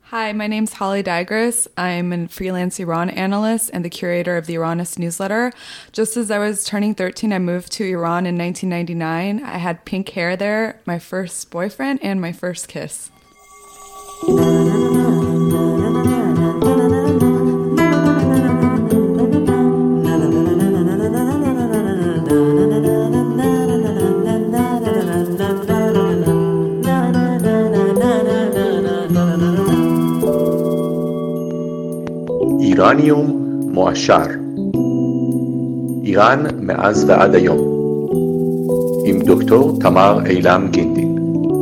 Hi, my name's Holly Digris. I'm a freelance Iran analyst and the curator of the Iranist newsletter. Just as I was turning 13, I moved to Iran in 1999. I had pink hair there, my first boyfriend, and my first kiss. איראניום מועשר איראן מאז ועד היום עם דוקטור תמר אילם גינדין.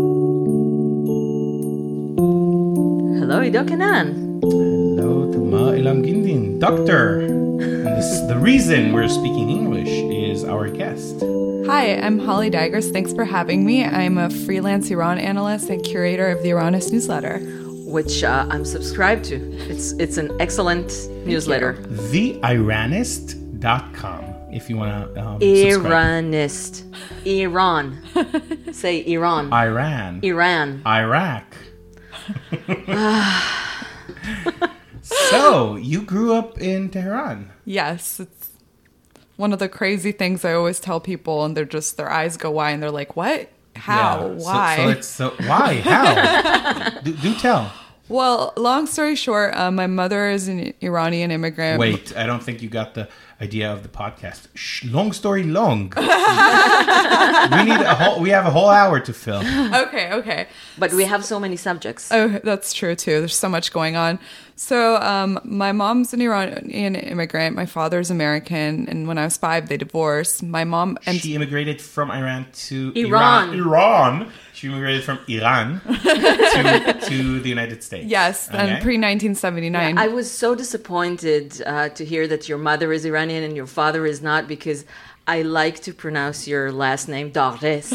Hello, Ido Kenan. Hello, Tamar Elam Gindin. Doctor. And the reason we're speaking English is our guest. Hi, I'm Holly Digris. Thanks for having me. I'm a freelance Iran analyst and curator of the Iranist newsletter. Which I'm subscribed to. It's an excellent newsletter. TheIranist.com if you want to subscribe. Iranist. Iran. Say Iran. Iran. Iran. Iraq. So, you grew up in Tehran. Yes, it's one of the crazy things I always tell people, and their eyes go wide, and they're like, what? How? Yeah. Why? So why? How? do tell. Well, long story short, my mother is an Iranian immigrant. Wait, I don't think you got the idea of the podcast. Long story long. We have a whole hour to fill. Okay. But we have so many subjects. Oh, that's true too. There's so much going on. So, my mom's an Iranian immigrant. My father's American, and when I was 5, they divorced. My mom she immigrated from Iran to Iran. Iran. She immigrated from Iran to the United States. Yes, Okay. and pre-1979. Yeah, I was so disappointed to hear that your mother is Iranian and your father is not, because I like to pronounce your last name Dagres.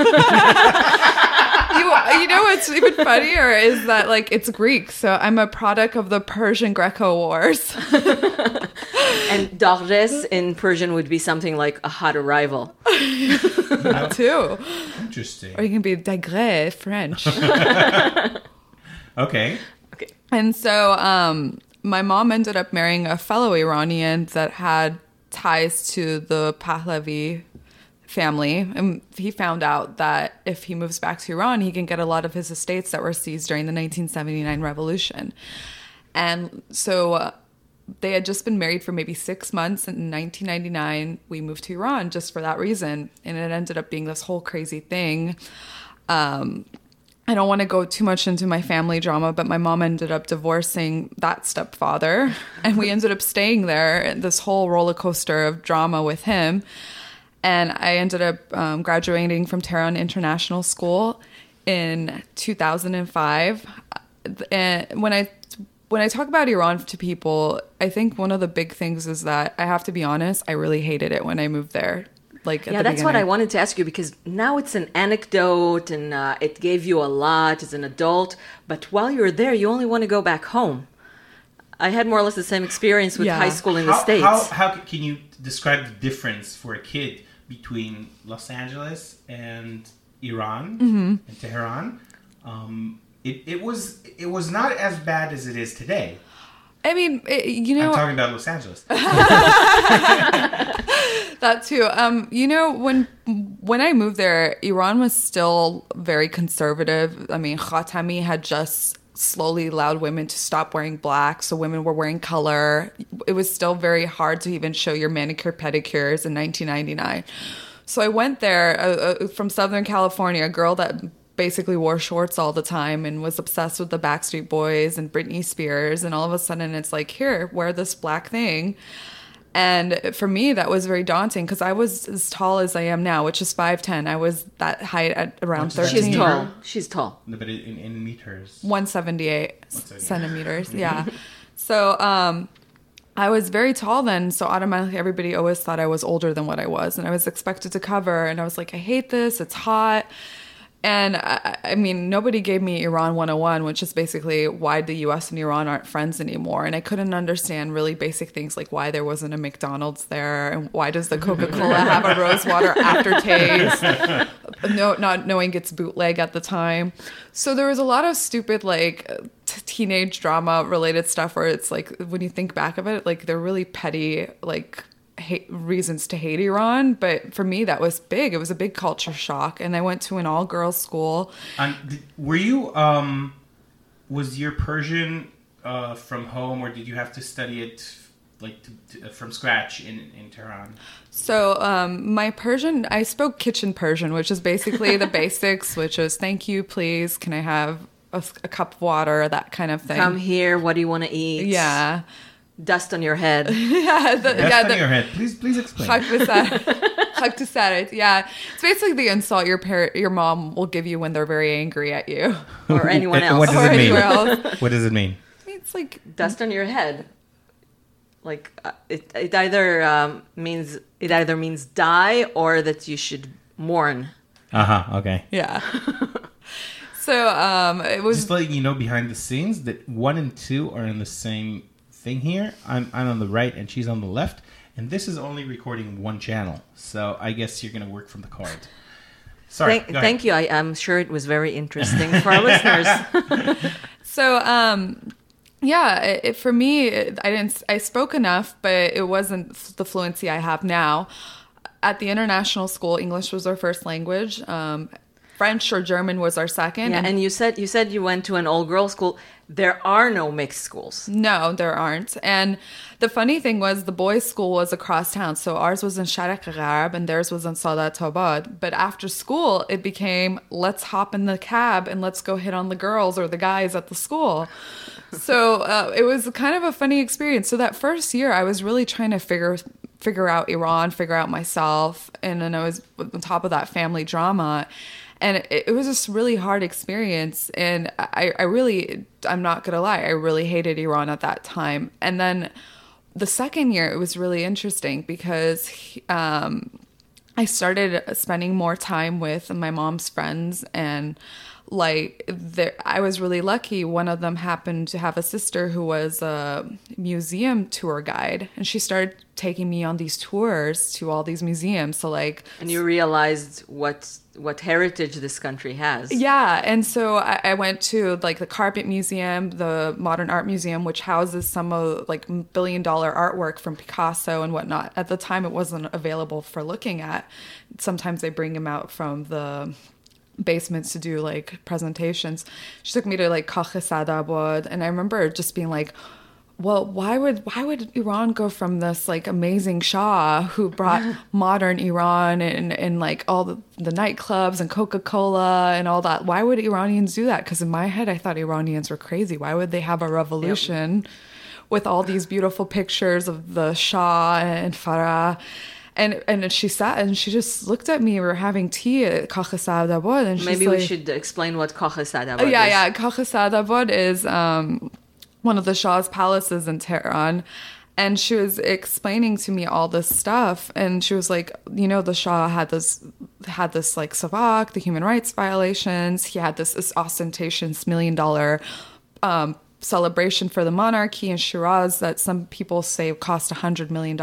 You know what's even funnier is that it's Greek, so I'm a product of the Persian Greco Wars. And Dagres in Persian would be something like a hot arrival. That too. Interesting. Or you can be Dagre, French. Okay. And so my mom ended up marrying a fellow Iranian that had ties to the Pahlavi family. And he found out that if he moves back to Iran, he can get a lot of his estates that were seized during the 1979 revolution. And so they had just been married for maybe 6 months. And in 1999, we moved to Iran just for that reason. And it ended up being this whole crazy thing. I don't want to go too much into my family drama, but my mom ended up divorcing that stepfather. And we ended up staying there, this whole roller coaster of drama with him. And I ended up graduating from Tehran International School in 2005. And when I talk about Iran to people, I think one of the big things is that I have to be honest, I really hated it when I moved there. That's what I wanted to ask you, because now it's an anecdote and it gave you a lot as an adult. But while you're there, you only want to go back home. I had more or less the same experience with high school in the States. How can you describe the difference for a kid between Los Angeles and Iran and Tehran? It was not as bad as it is today. I mean, I'm talking about Los Angeles. That too. When I moved there, Iran was still very conservative. I mean, Khatami had just slowly allowed women to stop wearing black, so women were wearing color. It was still very hard to even show your manicure pedicures in 1999. So I went there from Southern California, a girl that basically wore shorts all the time and was obsessed with the Backstreet Boys and Britney Spears, and all of a sudden it's like, here, wear this black thing. And for me, that was very daunting because I was as tall as I am now, which is 5'10". I was that height at around 13. She's tall. No, but in meters. 178 centimeters, yeah. So I was very tall then, so automatically everybody always thought I was older than what I was. And I was expected to cover, and I was like, I hate this, it's hot. And I mean, nobody gave me Iran 101, which is basically why the U.S. and Iran aren't friends anymore. And I couldn't understand really basic things like why there wasn't a McDonald's there and why does the Coca-Cola have a rosewater aftertaste, not knowing it's bootleg at the time. So there was a lot of stupid teenage drama related stuff where it's like, when you think back of it, like they're really petty, like reasons to hate Iran. But for me, that was big. It was a big culture shock. And I went to an all girls school. Were you, was your Persian from home, or did you have to study it like from scratch in Tehran? So my Persian, I spoke kitchen Persian, which is basically the basics, which is thank you, please, can I have a cup of water, that kind of thing. Come here, what do you want to eat? Yeah. Dust on your head. Dust on your head. Please explain. Hak to saret. Yeah. It's basically the insult your mom will give you when they're very angry at you. Or anyone else. What does it mean? Else. What does it mean? It's like dust on your head. Like it either means die or that you should mourn. Okay. Yeah. So it was just letting you know behind the scenes that 1 and 2 are in the same thing here. I'm on the right and she's on the left, and this is only recording one channel. So I guess you're gonna work from the card. Sorry. Thank you. I'm sure it was very interesting for our listeners. So for me, I spoke enough, but it wasn't the fluency I have now. At the international school, English was our first language. French or German was our second. Yeah, and you said you went to an all-girls school. There are no mixed schools. No, there aren't. And the funny thing was the boys' school was across town. So ours was in Sharak Gharb and theirs was in Sadat Tabad. But after school, it became, let's hop in the cab and let's go hit on the girls or the guys at the school. So it was kind of a funny experience. So that first year, I was really trying to figure out Iran, figure out myself. And then I was on top of that family drama. And it was just really hard experience. And I'm not going to lie, I really hated Iran at that time. And then the second year, it was really interesting because I started spending more time with my mom's friends. And I was really lucky. One of them happened to have a sister who was a museum tour guide. And she started taking me on these tours to all these museums. So and you realized what heritage this country has. Yeah. And so I went to the Carpet Museum, the Modern Art Museum, which houses some of $1 billion artwork from Picasso and whatnot. At the time, it wasn't available for looking at. Sometimes they bring them out from the basements to do presentations. She took me to Kach Sadabad, and I remember just being like, well, why would Iran go from this amazing Shah who brought modern Iran and all the nightclubs and Coca-Cola and all that? Why would Iranians do that? Because in my head, I thought Iranians were crazy. Why would they have a revolution with all these beautiful pictures of the Shah and Farah? And she sat and she just looked at me. We were having tea at Kach Sadabad, and maybe we should explain what Kach Sadabad is. Yeah. Kach Sadabad is one of the Shah's palaces in Tehran. And she was explaining to me all this stuff. And she was like, the Shah had this savak, the human rights violations. He had this ostentatious $1 million celebration for the monarchy in Shiraz that some people say cost $100 million.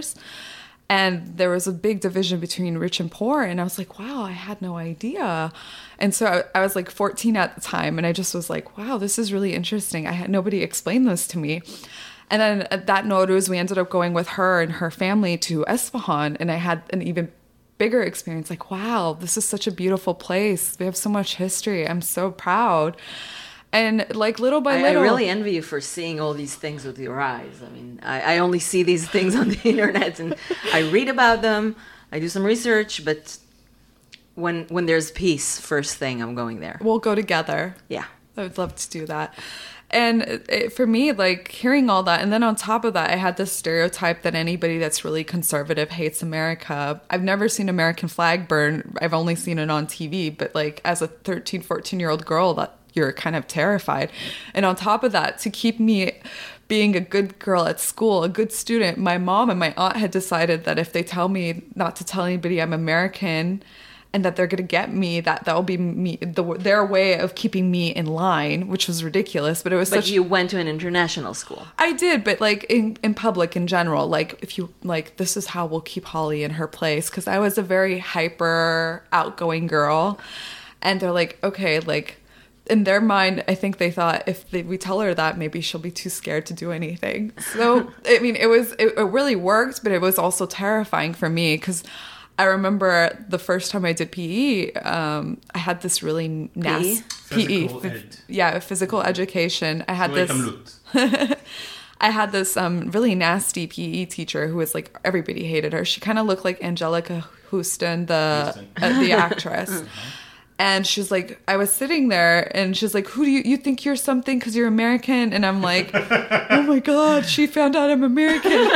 And there was a big division between rich and poor. And I was like, wow, I had no idea. And so I was 14 at the time. And I just was like, wow, this is really interesting. Nobody explained this to me. And then at that Nowruz, we ended up going with her and her family to Esfahan. And I had an even bigger experience. Wow, this is such a beautiful place. We have so much history. I'm so proud. And little by little, I really envy you for seeing all these things with your eyes. I mean, I only see these things on the internet and I read about them. I do some research, but when there's peace, first thing I'm going there. We'll go together. Yeah, I would love to do that. And for me, hearing all that, and then on top of that, I had this stereotype that anybody that's really conservative hates America. I've never seen American flag burn. I've only seen it on TV. But as a 13, 14-year-old girl, that you're kind of terrified. And on top of that, to keep me being a good girl at school, a good student, my mom and my aunt had decided that if they tell me not to tell anybody I'm American and that they're going to get me, that will be their way of keeping me in line, which was ridiculous. But it was But you went to an international school. I did, but in public in general, if you this is how we'll keep Holly in her place. Because I was a very hyper outgoing girl. And they're like, okay, in their mind, I think they thought we tell her that, maybe she'll be too scared to do anything. So, I mean, it really worked, but it was also terrifying for me because I remember the first time I did PE, I had this really nasty physical education. I had I had this really nasty PE teacher who was like, everybody hated her. She kind of looked like Angelica Houston, the actress. And she's like, I was sitting there and she's like, who do you think you're something because you're American? And I'm like, oh my God, she found out I'm American. And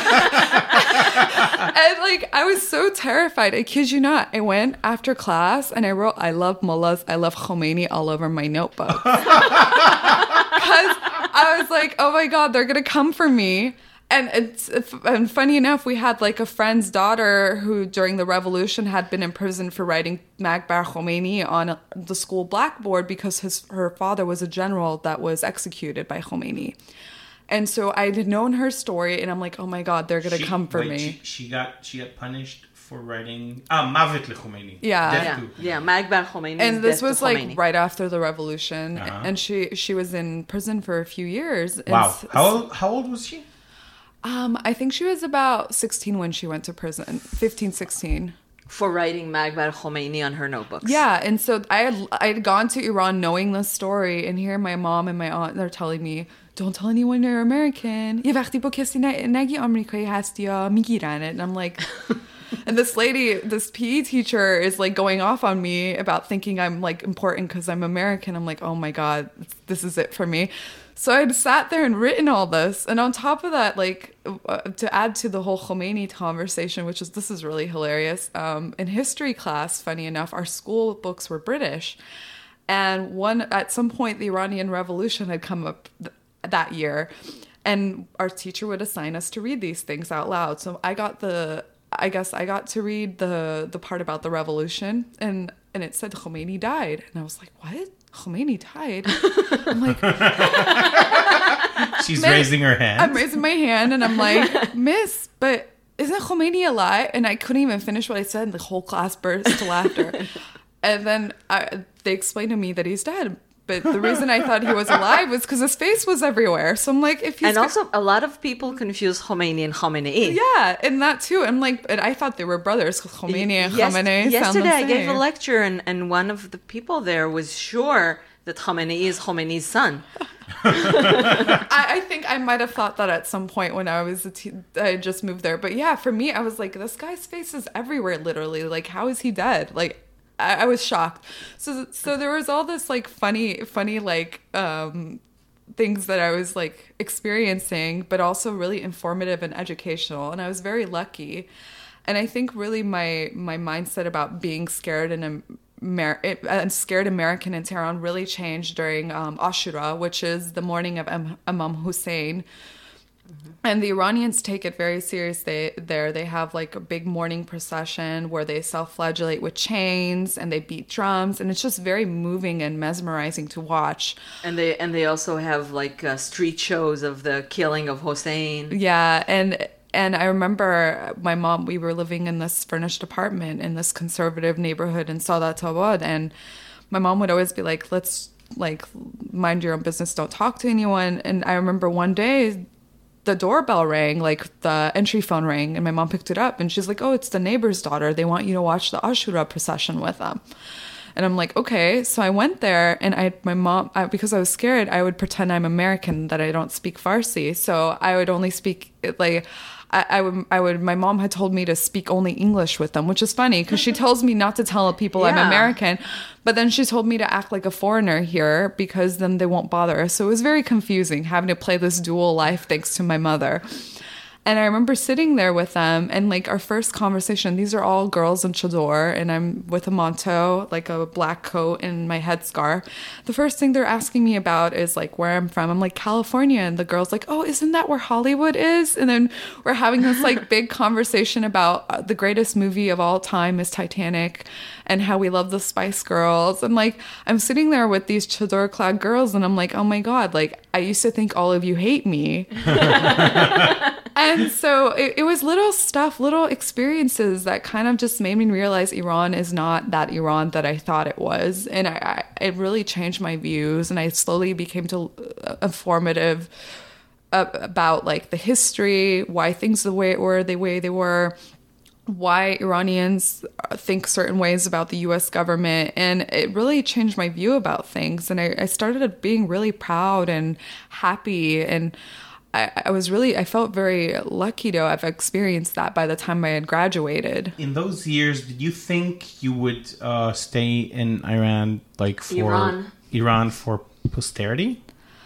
like, I was so terrified. I kid you not. I went after class and I wrote, I love mullahs, I love Khomeini all over my notebook. Because I was like, oh my God, they're going to come for me. And funny enough, we had like a friend's daughter who during the revolution had been in prison for writing Magbar Khomeini on the school blackboard because her father was a general that was executed by Khomeini. And so I had known her story and I'm like, oh my God, they're going to come for me. She got punished for writing Mavet LeKhomeini. Yeah. Magbar Khomeini. And this was like right after the revolution. And she was in prison for a few years. Wow. How old was she? I think she was about 16 when she went to prison, 15, 16. For writing Magbar Khomeini on her notebooks. Yeah, and so I had gone to Iran knowing this story, and here my mom and my aunt, they're telling me, don't tell anyone you're American. یه وقتی با کسی نگی آمریکایی هستی یا میگیرن. And I'm like... And this PE teacher is like going off on me about thinking I'm like important because I'm American. I'm like, oh my God, this is it for me. So I'd sat there and written all this. And on top of that, like to add to the whole Khomeini conversation, this is really hilarious. In history class, funny enough, our school books were British. And at some point, the Iranian Revolution had come up that year. And our teacher would assign us to read these things out loud. So I got to read the part about the revolution, and it said Khomeini died, and I was like, "What? Khomeini died?" I'm like, she's raising her hand. I'm raising my hand, and I'm like, "Miss, but isn't Khomeini alive?" And I couldn't even finish what I said, and the whole class burst to laughter. And then they explained to me that he's dead. But the reason I thought he was alive was because his face was everywhere. So I'm like, if he's... And also, a lot of people confuse Khomeini and Khamenei. Yeah, and that too. I'm like, and I thought they were brothers. Khomeini and Khamenei Yesterday, I gave a lecture, and one of the people there was sure that Khamenei is Khomeiни's son. I think I might have thought that at some point when I was I just moved there. But yeah, for me, I was like, this guy's face is everywhere, literally. Like, how is he dead? Like... I was shocked. So there was all this like funny like things that I was like experiencing, but also really informative and educational. And I was very lucky. And I think really my mindset about being scared and scared American in Tehran really changed during Ashura, which is the morning of Imam Hussein. And the Iranians take it very serious. They have like a big morning procession where they self-flagellate with chains and they beat drums, and it's just very moving and mesmerizing to watch. And they also have like street shows of the killing of Hossein. Yeah, and I remember my mom. We were living in this furnished apartment in this conservative neighborhood in Sadat Abad, and my mom would always be like, "Let's like mind your own business. Don't talk to anyone." And I remember one day, the doorbell rang, like the entry phone rang, and my mom picked it up and she's like, "Oh, it's the neighbor's daughter. They want you to watch the Ashura procession with them." And I'm like, okay. So I went there, and because I was scared, I would pretend I'm American, that I don't speak Farsi. So I would only speak like, my mom had told me to speak only English with them, which is funny because she tells me not to tell people I'm American, but then she told me to act like a foreigner here because then they won't bother us. So it was very confusing having to play this dual life thanks to my mother. And I remember sitting there with them, and like our first conversation, these are all girls in chador, and I'm with a manto, like a black coat and my headscarf. The first thing they're asking me about is like where I'm from. I'm like, California. And the girl's like, "Oh, isn't that where Hollywood is?" And then we're having this like big conversation about the greatest movie of all time is Titanic and how we love the Spice Girls. And like, I'm sitting there with these chador clad girls, and I'm like, oh my God, like I used to think all of you hate me. And so it was little stuff, little experiences that kind of just made me realize Iran is not that Iran that I thought it was. And it really changed my views. And I slowly became informative about like the history, why things the way they were, why Iranians think certain ways about the U.S. government. And it really changed my view about things. And I started being really proud and happy. And I felt very lucky to have experienced that by the time I had graduated. In those years, did you think you would stay in Iran, like for Iran for posterity?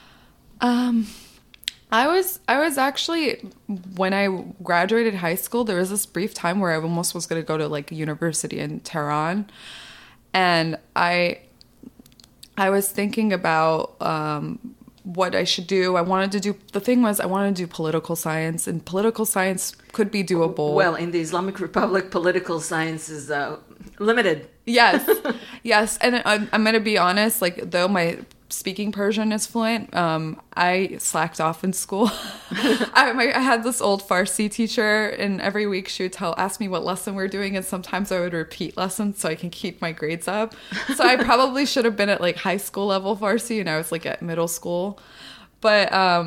I was actually, when I graduated high school, there was this brief time where I almost was going to go to like a university in Tehran. And I was thinking about what I should do. I wanted to do political science, and political science could be doable. Well, in the Islamic Republic, political science is limited. Yes. Yes. And I'm going to be honest, like, though my speaking Persian is fluent, I slacked off in school. I had this old Farsi teacher, and every week she would ask me what lesson we're doing, and sometimes I would repeat lessons so I can keep my grades up. So I probably should have been at like high school level Farsi, and I was like at middle school. But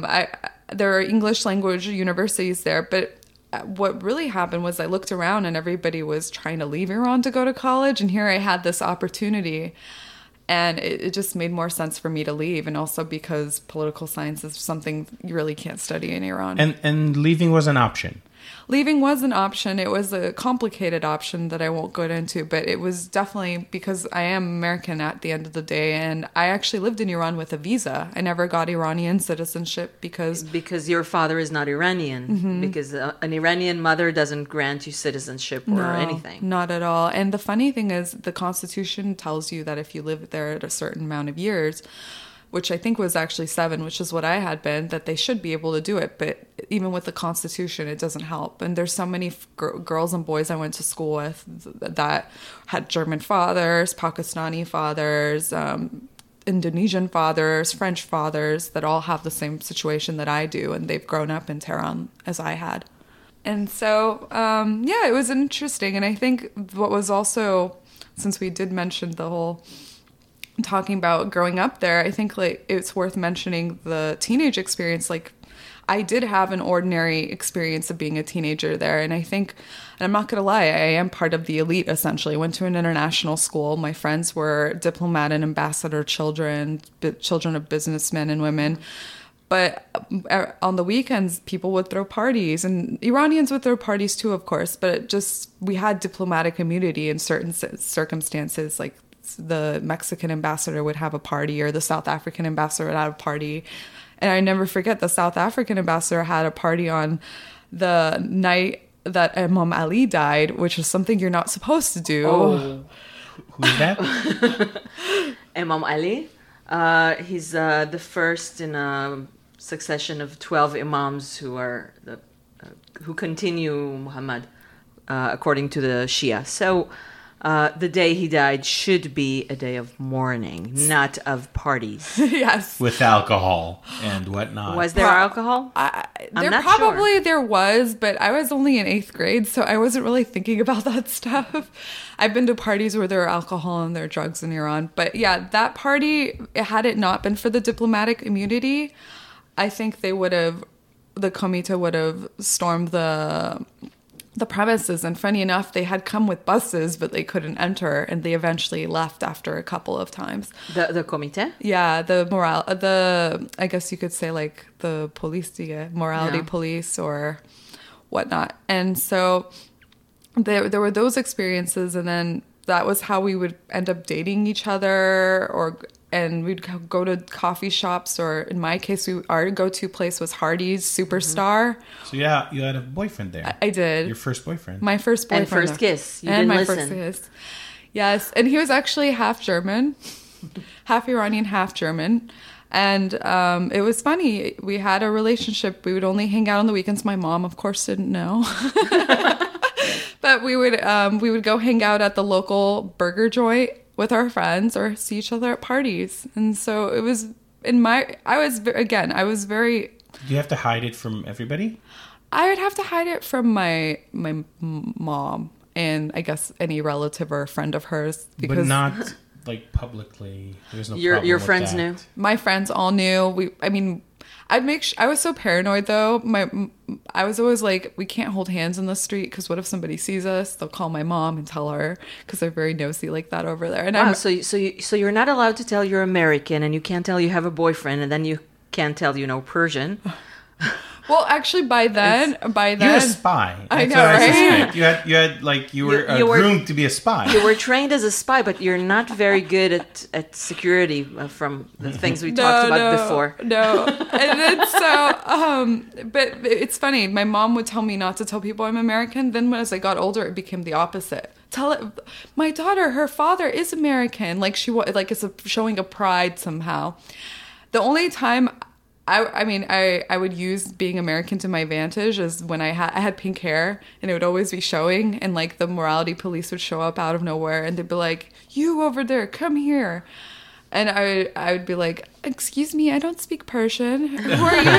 there are English language universities there, but what really happened was I looked around and everybody was trying to leave Iran to go to college, and here I had this opportunity. And it just made more sense for me to leave, and also because political science is something you really can't study in Iran. And leaving was an option. Leaving was an option. It was a complicated option that I won't go into, but it was definitely because I am American at the end of the day, and I actually lived in Iran with a visa. I never got Iranian citizenship because your father is not Iranian. Mm-hmm. Because an Iranian mother doesn't grant you citizenship or anything. Not at all. And the funny thing is, the Constitution tells you that if you live there at a certain amount of years, which I think was actually 7, which is what I had been, that they should be able to do it. But even with the Constitution, it doesn't help. And there's so many girls and boys I went to school with that had German fathers, Pakistani fathers, Indonesian fathers, French fathers, that all have the same situation that I do. And they've grown up in Tehran as I had. And so, it was interesting. And I think what was also, since we did mention the whole talking about growing up there, I think like it's worth mentioning the teenage experience. Like, I did have an ordinary experience of being a teenager there, and I think, and I'm not gonna lie, I am part of the elite essentially. I went to an international school. My friends were diplomat and ambassador children of businessmen and women. But on the weekends, people would throw parties, and Iranians would throw parties too, of course. But we had diplomatic immunity in certain circumstances, like the Mexican ambassador would have a party, or the South African ambassador would have a party. And I never forget, the South African ambassador had a party on the night that Imam Ali died, which is something you're not supposed to do. Oh, who's that? Imam Ali. He's the first in a succession of 12 imams who continue Muhammad according to the Shia. So the day he died should be a day of mourning, not of parties. Yes. With alcohol and whatnot. Was there alcohol? There was, but I was only in 8th grade, so I wasn't really thinking about that stuff. I've been to parties where there are alcohol and there are drugs in Iran. But yeah, that party, had it not been for the diplomatic immunity, I think the Comité would have stormed the premises. And funny enough, they had come with buses, but they couldn't enter, and they eventually left after a couple of times. The Comité? Yeah, I guess you could say like the police, morality police or whatnot. And so there were those experiences, and then that was how we would end up dating each other, and we'd go to coffee shops, or in my case, our go-to place was Hardee's Superstar. So yeah, you had a boyfriend there. I did. Your first boyfriend. My first boyfriend. And first kiss. First kiss. Yes, and he was actually half German, half Iranian, half German. And it was funny. We had a relationship. We would only hang out on the weekends. My mom, of course, didn't know. But we would go hang out at the local burger joint with our friends, or see each other at parties. And so it was I was very... Did you have to hide it from everybody? I would have to hide it from my mom and I guess any relative or friend of hers because But not like publicly. There's no problem Your with friends that. knew. my friends all knew. I'd make I was so paranoid though. I was always like, we can't hold hands in the street because what if somebody sees us? They'll call my mom and tell her because they're very nosy like that over there. And Wow, so you're not allowed to tell you're American, and you can't tell you have a boyfriend, and then you can't tell you know Persian. well, actually, by then, You're a spy. I That's know, what right? suspect. You were You were- groomed to be a spy. You were trained as a spy, but you're not very good at security from the things we talked about before. No, and then but it's funny. My mom would tell me not to tell people I'm American. Then as I got older, it became the opposite. Tell it, my daughter, her father is American. Like it's showing a pride somehow. The only time I would use being American to my advantage is when I had pink hair and it would always be showing and like the morality police would show up out of nowhere and they'd be like, you over there, come here. And I would be like, excuse me, I don't speak Persian. Who are you?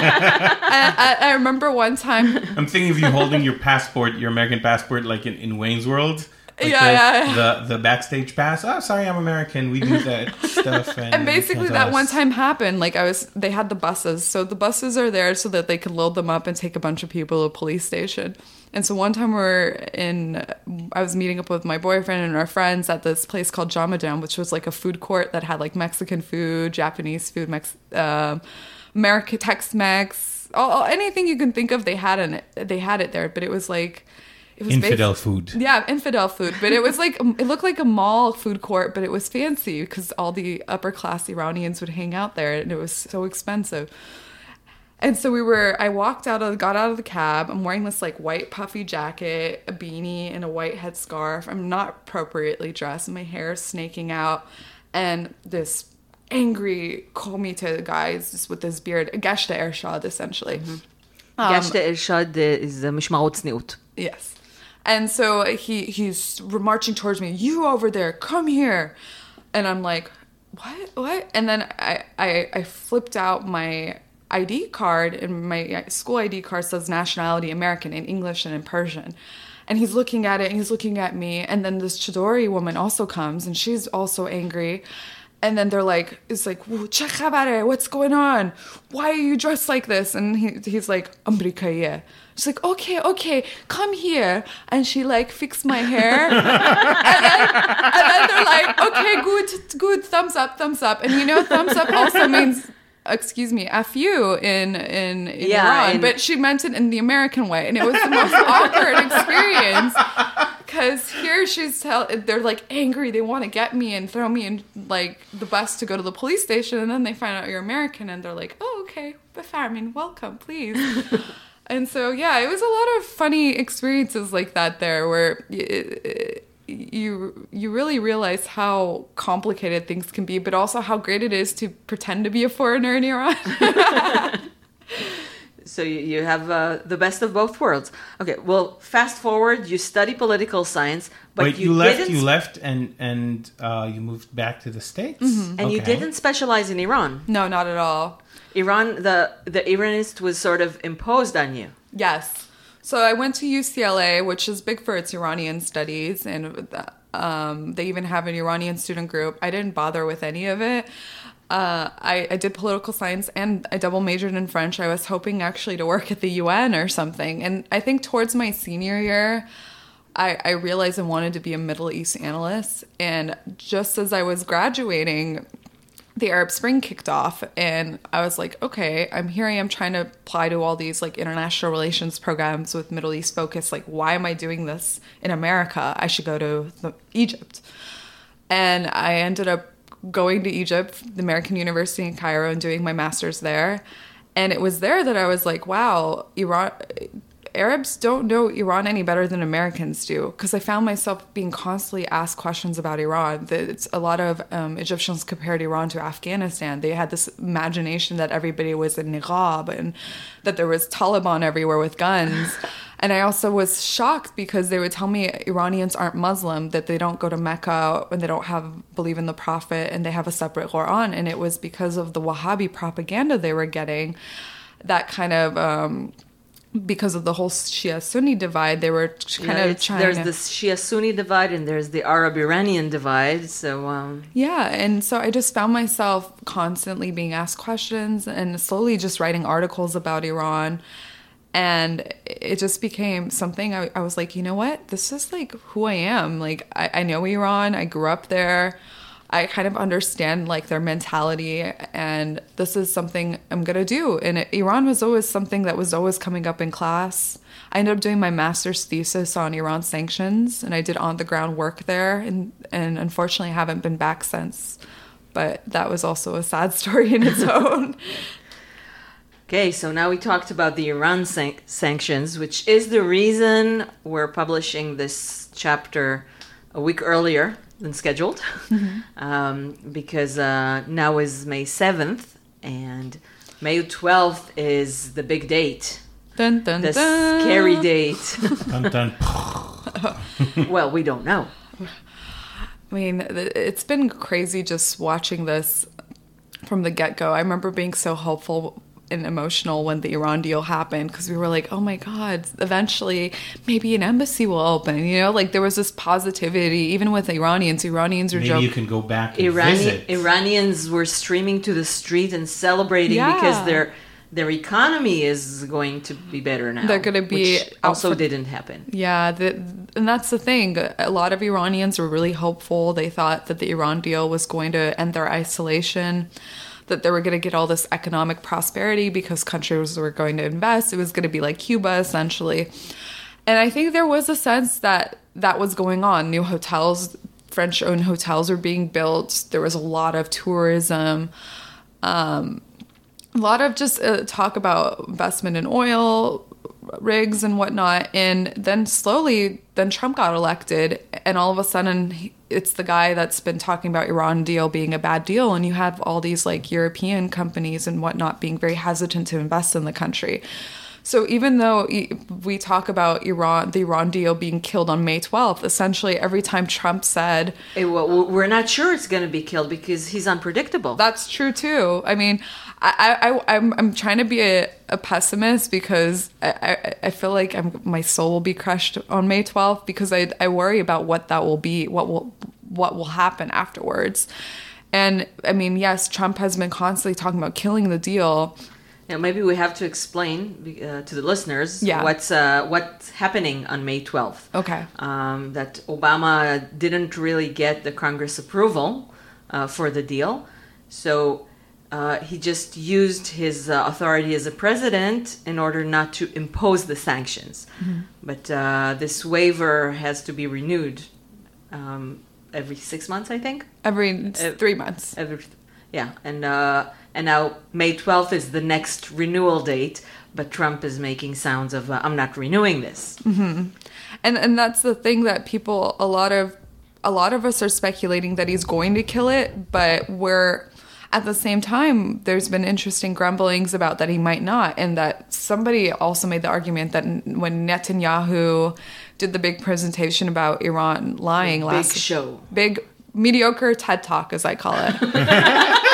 I remember one time. I'm thinking of you holding your passport, your American passport, like in Wayne's World. Like the backstage pass. Oh, sorry, I'm American. We do that stuff. And basically that one time happened. Like they had the buses. So the buses are there so that they could load them up and take a bunch of people to a police station. And so one time I was meeting up with my boyfriend and our friends at this place called Jamadam, which was like a food court that had like Mexican food, Japanese food, American Tex-Mex, anything you can think of. They had it there, but it was like, it was infidel food. Yeah, infidel food. But it was like, it looked like a mall food court, but it was fancy because all the upper class Iranians would hang out there and it was so expensive. And so I got out of the cab. I'm wearing this like white puffy jacket, a beanie, and a white headscarf. I'm not appropriately dressed. My hair is snaking out. And this angry Komite guy just with his beard, a Gashta Ershad, essentially. Gashta Ershad is Mishmarot Tzniut. Yes. And so he's marching towards me. You over there, come here. And I'm like, what? And then I flipped out my ID card, and my school ID card says nationality American in English and in Persian. And he's looking at it, and he's looking at me. And then this Chidori woman also comes, and she's also angry. And then it's like, che khabare, what's going on? Why are you dressed like this? And he's like, Amrikaiye. She's like, okay, come here. And she like fixed my hair. and then they're like, okay, good, thumbs up. And you know, thumbs up also means, excuse me, F you in Iran. But she meant it in the American way. And it was the most awkward experience. Because here they're like angry. They want to get me and throw me in like the bus to go to the police station. And then they find out you're American and they're like, oh, okay, Befarmin, welcome, please. And so, yeah, it was a lot of funny experiences like that there where you really realize how complicated things can be, but also how great it is to pretend to be a foreigner in Iran. So you have the best of both worlds. Okay, well, fast forward, you study political science, but Wait, you left and you moved back to the States? Mm-hmm. And you didn't specialize in Iran. No, not at all. Iran, the Iranist was sort of imposed on you. Yes. So I went to UCLA, which is big for its Iranian studies, and they even have an Iranian student group. I didn't bother with any of it. I did political science and I double majored in French. I was hoping actually to work at the UN or something. And I think towards my senior year, I realized I wanted to be a Middle East analyst. And just as I was graduating, the Arab Spring kicked off. And I was like, okay, I'm trying to apply to all these like international relations programs with Middle East focus. Like, why am I doing this in America? I should go to Egypt. And I ended up going to Egypt, the American University in Cairo, and doing my master's there. And it was there that I was like, wow, Arabs don't know Iran any better than Americans do. Because I found myself being constantly asked questions about Iran. It's a lot of Egyptians compared Iran to Afghanistan. They had this imagination that everybody was in niqab and that there was Taliban everywhere with guns. And I also was shocked because they would tell me Iranians aren't Muslim, that they don't go to Mecca and they don't believe in the Prophet and they have a separate Quran. And it was because of the Wahhabi propaganda they were getting that kind of because of the whole Shia-Sunni divide, they were kind of trying There's to... this Shia-Sunni divide and there's the Arab-Iranian divide. So, Yeah, and so I just found myself constantly being asked questions and slowly just writing articles about Iran. And it just became something I was like, you know what? This is like who I am. Like, I know Iran. I grew up there. I kind of understand like their mentality, and this is something I'm going to do. And Iran was always something that was always coming up in class. I ended up doing my master's thesis on Iran sanctions, and I did on-the-ground work there, and unfortunately I haven't been back since. But that was also a sad story in its own. okay, so now we talked about the Iran sanctions, which is the reason we're publishing this chapter a week earlier than scheduled, because now is May 7th, and May 12th is the big date. Dun, dun, The dun. scary date. Dun, dun. Well, we don't know. I mean, it's been crazy just watching this from the get-go. I remember being so hopeful and emotional when the Iran deal happened, because we were like, oh my God, eventually maybe an embassy will open. You know, like there was this positivity, even with Iranians. Iranians are Maybe joking. you can go back and visit. Iranians were streaming to the street and celebrating Yeah. because their economy is going to be better now. They're gonna be which also out for- didn't happen. Yeah, and that's the thing. A lot of Iranians were really hopeful. They thought that the Iran deal was going to end their isolation, that they were going to get all this economic prosperity because countries were going to invest. It was going to be like Cuba, essentially. And I think there was a sense that that was going on. New hotels, French-owned hotels were being built. There was a lot of tourism. A lot of just talk about investment in oil rigs and whatnot. And then slowly, then Trump got elected, and all of a sudden it's the guy that's been talking about Iran deal being a bad deal. And you have all these like European companies and whatnot being very hesitant to invest in the country. So even though we talk about the Iran deal being killed on May 12th, essentially every time Trump said... Well, we're not sure it's going to be killed because he's unpredictable. That's true too. I mean, I'm trying to be a pessimist because I feel like my soul will be crushed on May 12th because I worry about what that will be, what will happen afterwards. And I mean, yes, Trump has been constantly talking about killing the deal. Now, maybe we have to explain to the listeners what's happening on May 12th. Okay. That Obama didn't really get the Congress approval for the deal. So he just used his authority as a president in order not to impose the sanctions. Mm-hmm. But this waiver has to be renewed every 6 months, I think? Every 3 months. And now May 12th is the next renewal date, but Trump is making sounds of, I'm not renewing this. Mm-hmm. And that's the thing that people, a lot of us are speculating that he's going to kill it, but at the same time, there's been interesting grumblings about that he might not, and that somebody also made the argument that when Netanyahu did the big presentation about Iran lying big mediocre TED Talk, as I call it.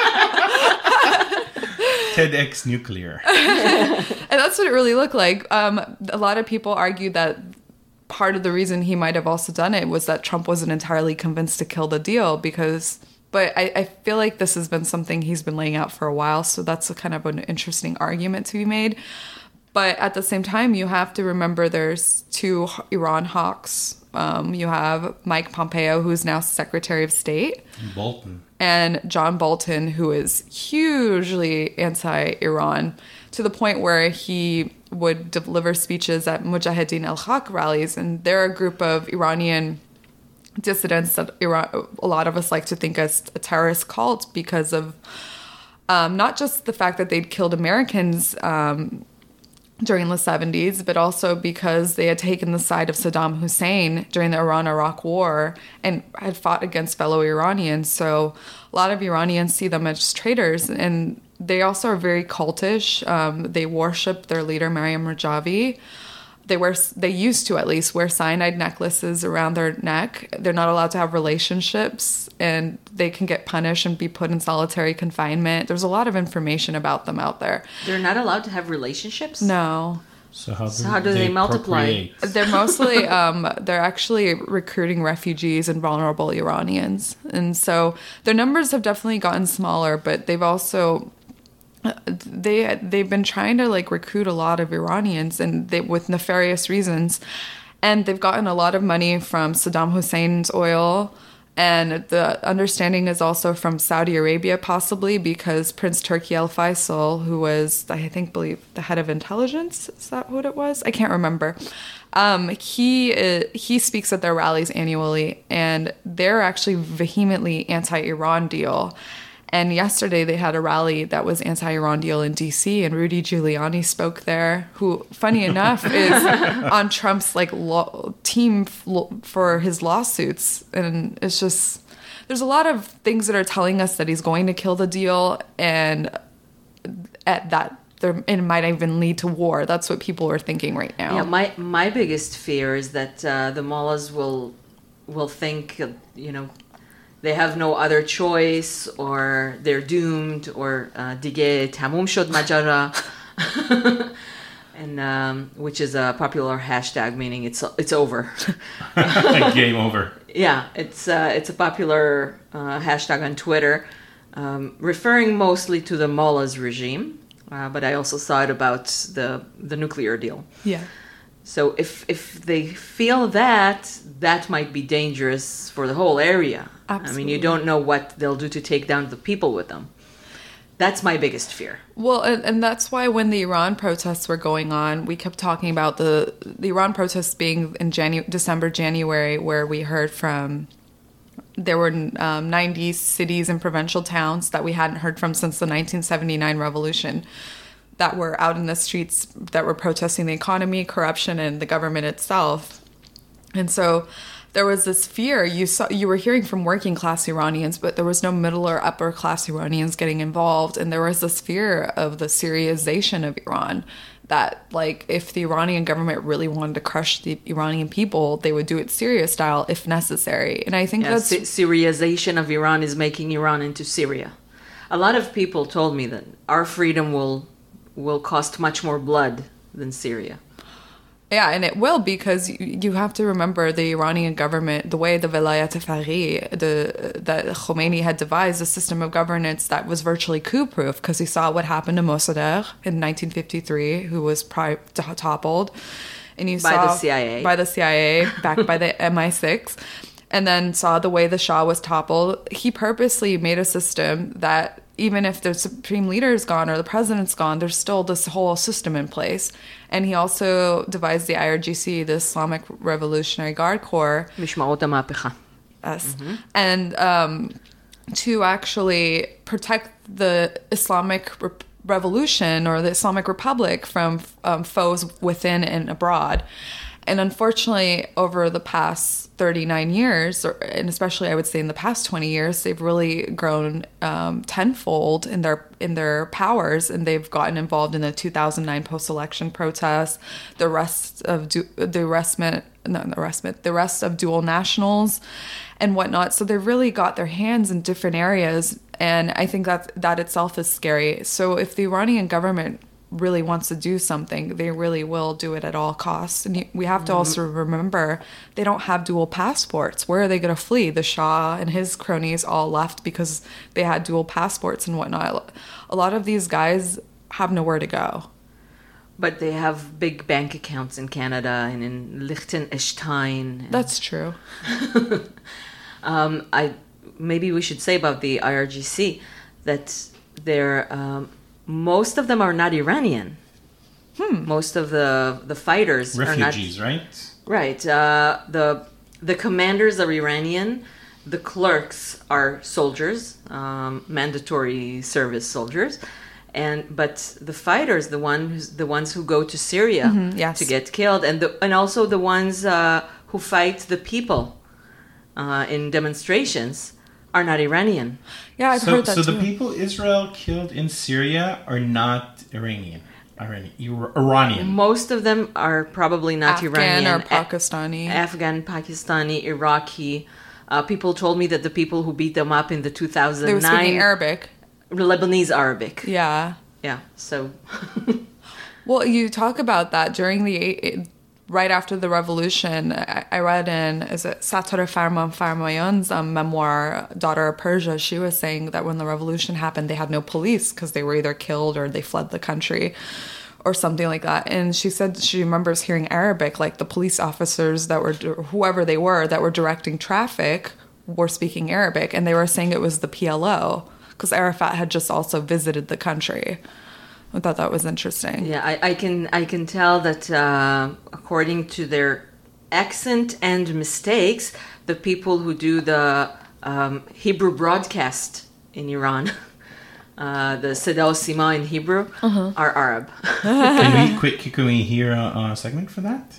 TEDx Nuclear. And that's what it really looked like. A lot of people argued that part of the reason he might have also done it was that Trump wasn't entirely convinced to kill the deal but I feel like this has been something he's been laying out for a while, so that's a kind of an interesting argument to be made. But at the same time, you have to remember there's two Iran hawks. You have Mike Pompeo, who's now Secretary of State. Bolton. And John Bolton, who is hugely anti-Iran, to the point where he would deliver speeches at Mujahideen al-Haq rallies. And they're a group of Iranian dissidents that a lot of us like to think as a terrorist cult because of not just the fact that they'd killed Americans during the 70s, but also because they had taken the side of Saddam Hussein during the Iran-Iraq War and had fought against fellow Iranians. So a lot of Iranians see them as traitors, and they also are very cultish. They worship their leader, Maryam Rajavi. They used to at least wear cyanide necklaces around their neck. They're not allowed to have relationships, and they can get punished and be put in solitary confinement. There's a lot of information about them out there. They're not allowed to have relationships? No. So how do they multiply? procreate? They're mostly they're actually recruiting refugees and vulnerable Iranians, and so their numbers have definitely gotten smaller. But they've also they've been trying to like recruit a lot of Iranians, and with nefarious reasons, and they've gotten a lot of money from Saddam Hussein's oil. And the understanding is also from Saudi Arabia, possibly because Prince Turki Al Faisal, who was, believe the head of intelligence, is that what it was? I can't remember. He speaks at their rallies annually, and they're actually vehemently anti-Iran deal. And yesterday they had a rally that was anti-Iran deal in D.C. and Rudy Giuliani spoke there, who, funny enough, is on Trump's team for his lawsuits. And it's just, there's a lot of things that are telling us that he's going to kill the deal, and it might even lead to war. That's what people are thinking right now. Yeah, my biggest fear is that the mullahs will think, they have no other choice, or they're doomed, or dige tamum shod majara, and which is a popular hashtag meaning it's over. Game over. Yeah, it's a popular hashtag on Twitter, referring mostly to the mullahs regime, but I also saw it about the nuclear deal. Yeah. So if they feel that might be dangerous for the whole area. Absolutely. I mean, you don't know what they'll do to take down the people with them. That's my biggest fear. Well, and that's why when the Iran protests were going on, we kept talking about the Iran protests being in December, January, where we heard from, there were 90 cities and provincial towns that we hadn't heard from since the 1979 revolution, that were out in the streets, that were protesting the economy, corruption, and the government itself. And so there was this fear. You were hearing from working class Iranians, but there was no middle or upper class Iranians getting involved. And there was this fear of the Syriization of Iran, that like if the Iranian government really wanted to crush the Iranian people, they would do it Syria style if necessary. And I think that's Syriization of Iran is making Iran into Syria. A lot of people told me that our freedom will cost much more blood than Syria. Yeah, and it will, because you have to remember the Iranian government, the way the Velayat Faghi, that Khomeini had devised a system of governance that was virtually coup-proof, because he saw what happened to Mossadegh in 1953, who was toppled. And you by the CIA, backed by the MI6, and then saw the way the Shah was toppled. He purposely made a system that even if the supreme leader is gone or the president's gone, there's still this whole system in place. And he also devised the IRGC, the Islamic Revolutionary Guard Corps. Mishmaot HaMapecha. Yes. Mm-hmm. And to actually protect the Islamic Revolution or the Islamic Republic from foes within and abroad. And unfortunately, over the past 39 years, and especially I would say in the past 20 years, they've really grown tenfold in their powers, and they've gotten involved in the 2009 post-election protests, the rest of dual nationals, and whatnot. So they've really got their hands in different areas, and I think that itself is scary. So if the Iranian government really wants to do something, they really will do it at all costs. And we have to also remember, they don't have dual passports. Where are they going to flee? The Shah and his cronies all left because they had dual passports and whatnot. A lot of these guys have nowhere to go. But they have big bank accounts in Canada and in Liechtenstein. That's true. Maybe we should say about the IRGC that they're... most of them are not Iranian. Most of the fighters refugees, are not, right? Right. The commanders are Iranian. The clerks are soldiers, mandatory service soldiers, but the fighters, the ones who go to Syria to get killed, and also the ones who fight the people in demonstrations, are not Iranian. Yeah, I've heard that too. So the people Israel killed in Syria are not Iranian. Most of them are probably not Iranian. Afghan or Pakistani. Afghan, Pakistani, Iraqi. People told me that the people who beat them up in the 2009... They were speaking Arabic. Lebanese Arabic. Yeah. Yeah, so... Well, you talk about that during right after the revolution. I read in, is it Satara Farmayon's memoir, Daughter of Persia, she was saying that when the revolution happened, they had no police because they were either killed or they fled the country or something like that. And she said she remembers hearing Arabic, like the police officers that were, whoever they were, that were directing traffic were speaking Arabic. And they were saying it was the PLO because Arafat had just also visited the country. I thought that was interesting. Yeah, I can tell that according to their accent and mistakes, the people who do the Hebrew broadcast in Iran, the Seda Sima in Hebrew, are Arab. Can we hear a segment for that?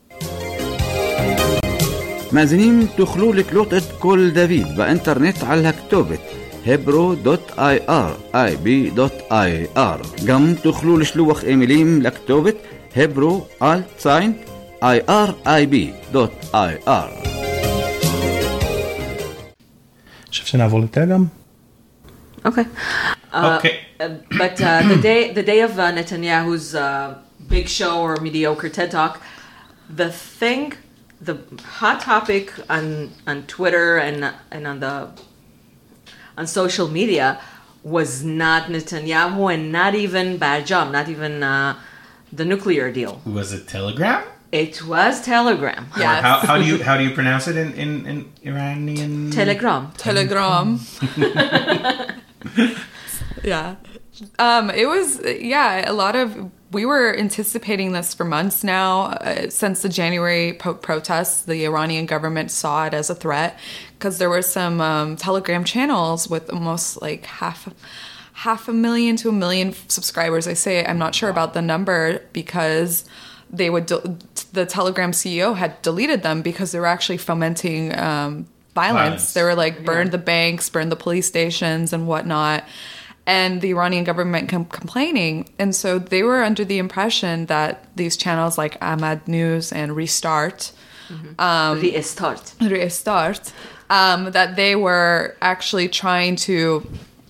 מאזינים תוכלו לקלוט את כל דוד באינטרנט על הכתובת hebro.ir ib.ir. גם תוכלו לשלוח אימיילים לכתובת hebro@irib.ir. חושב שנעבור לטלגרם? Okay. Okay. But the day of Netanyahu's big show or mediocre TED Talk, the hot topic on Twitter and on social media was not Netanyahu and not even Barjam, not even the nuclear deal. Was it Telegram? It was Telegram. Yes. How do you pronounce it in Iranian? Telegram. Yeah. It was, a lot of, we were anticipating this for months now. Since the January protests, the Iranian government saw it as a threat because there were some Telegram channels with almost like half a million to 1 million subscribers. I'm not sure about the number because they would, the Telegram CEO had deleted them because they were actually fomenting violence. They were like, burn the banks, burn the police stations and whatnot. And the Iranian government complaining. And so they were under the impression that these channels like Ahmad News and Restart, that they were actually trying to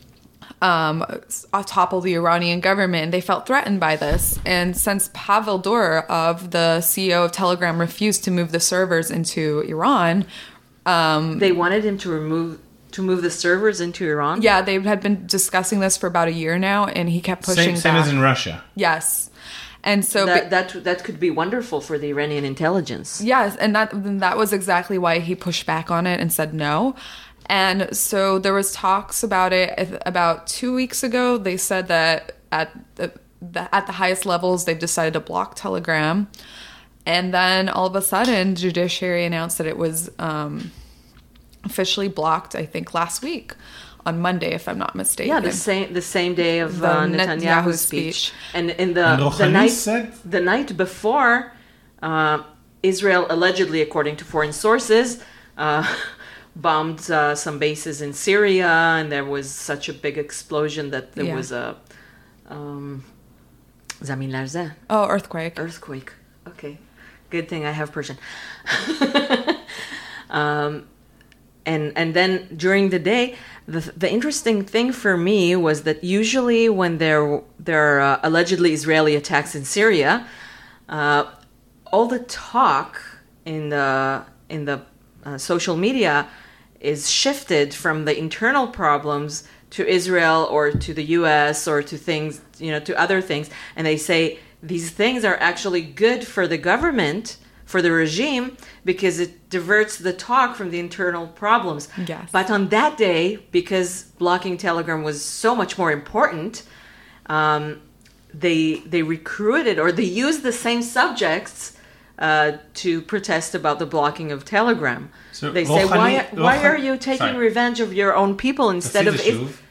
topple the Iranian government. They felt threatened by this. And since Pavel Durr, the CEO of Telegram, refused to move the servers into Iran, they wanted him to move the servers into Iran? Yeah, they had been discussing this for about a year now, and he kept pushing same back. as in Russia. Yes. And so that could be wonderful for the Iranian intelligence. Yes, and that was exactly why he pushed back on it and said no. And so there was talks about it about 2 weeks ago. They said that at the highest levels, they've decided to block Telegram. And then all of a sudden, Judiciary announced that it was officially blocked, I think, last week on Monday, if I'm not mistaken. Yeah, the same day of Netanyahu's speech. And in the night before, Israel allegedly, according to foreign sources, bombed some bases in Syria, and there was such a big explosion that there was a Zamin Larza. Oh, earthquake. Earthquake. Okay. Good thing I have Persian. And then during the day, the interesting thing for me was that usually when there are allegedly Israeli attacks in Syria, all the talk in the social media is shifted from the internal problems to Israel or to the U.S. or to things, to other things, and they say these things are actually good for the government, for the regime, because it diverts the talk from the internal problems. Yes. But on that day, because blocking Telegram was so much more important, they recruited, or they used the same subjects to protest about the blocking of Telegram. So they say, why are you taking revenge of your own people instead of...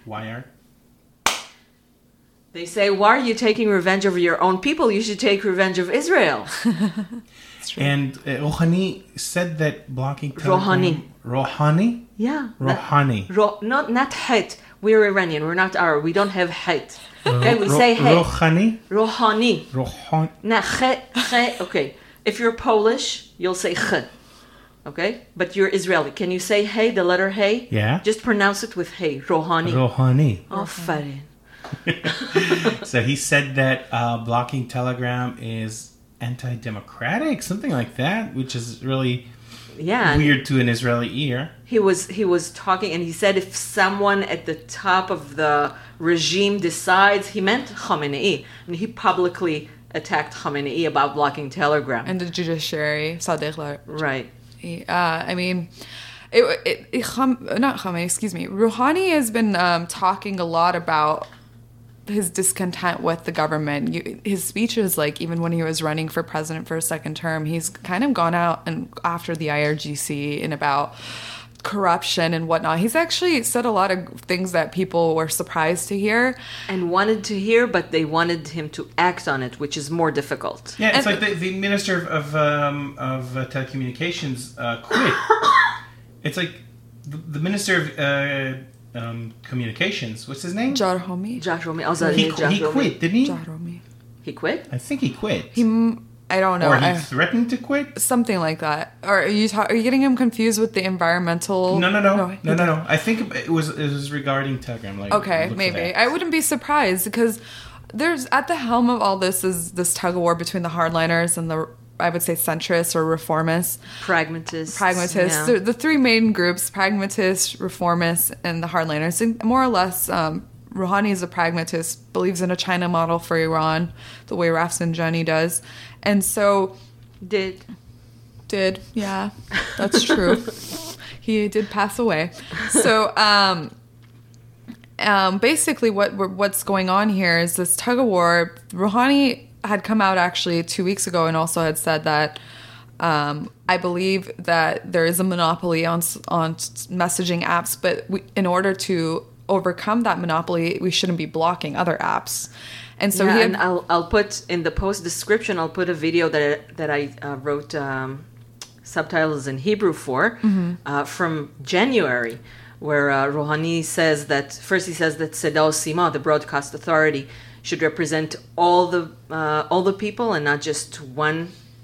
They say, why are you taking revenge of your own people? You should take revenge of Israel. And Rouhani said that blocking Telegram... Rouhani? Yeah. Rouhani. Not het. We're Iranian. We're not Arab. We don't have het. Okay, we say het. Rouhani? Rouhani. Rouhani. Nah, het. Okay. If you're Polish, you'll say ch. Okay? But you're Israeli. Can you say hey, the letter hey? Yeah. Just pronounce it with hey. Rouhani. Rouhani. Oh, farin. So he said that blocking Telegram is anti-democratic, something like that, which is really Yeah, and weird to an Israeli ear. he was talking, and he said if someone at the top of the regime decides, he meant Khamenei, and he publicly attacked Khamenei about blocking Telegram. And the judiciary, Sadiq Right. I mean, not Khamenei, excuse me. Rouhani has been talking a lot about his discontent with the government. His speeches, like even when he was running for president for a second term, he's kind of gone out and after the IRGC and about corruption and whatnot. He's actually said a lot of things that people were surprised to hear. And wanted to hear, but they wanted him to act on it, which is more difficult. Yeah, it's like the minister of telecommunications quit. It's like the minister of communications. What's his name? Jarhomi. Jahromi. He quit, didn't he? Jarhomi. He quit? I think he quit. I don't know. Or he threatened to quit? Something like that. Or are you getting him confused with the environmental? No. I think it was regarding Telegram. Like, Okay, look for maybe. that. I wouldn't be surprised because there's at the helm of all this is this tug of war between the hardliners and the, I would say, centrists or reformists. Pragmatists. Pragmatists. Yeah. The three main groups: pragmatists, reformists, and the hardliners. And more or less, Rouhani is a pragmatist, believes in a China model for Iran, the way Rafsanjani does, and so Did. yeah, that's true. He did pass away. So basically, what's going on here is this tug of war. Rouhani had come out actually 2 weeks ago and also had said that I believe that there is a monopoly on messaging apps, but in order to overcome that monopoly, we shouldn't be blocking other apps. And so and I'll put in the post description, I'll put a video that I wrote subtitles in Hebrew for from January, where Rouhani says that, first he says that Seda Sima, the broadcast authority, should represent all the people and not just one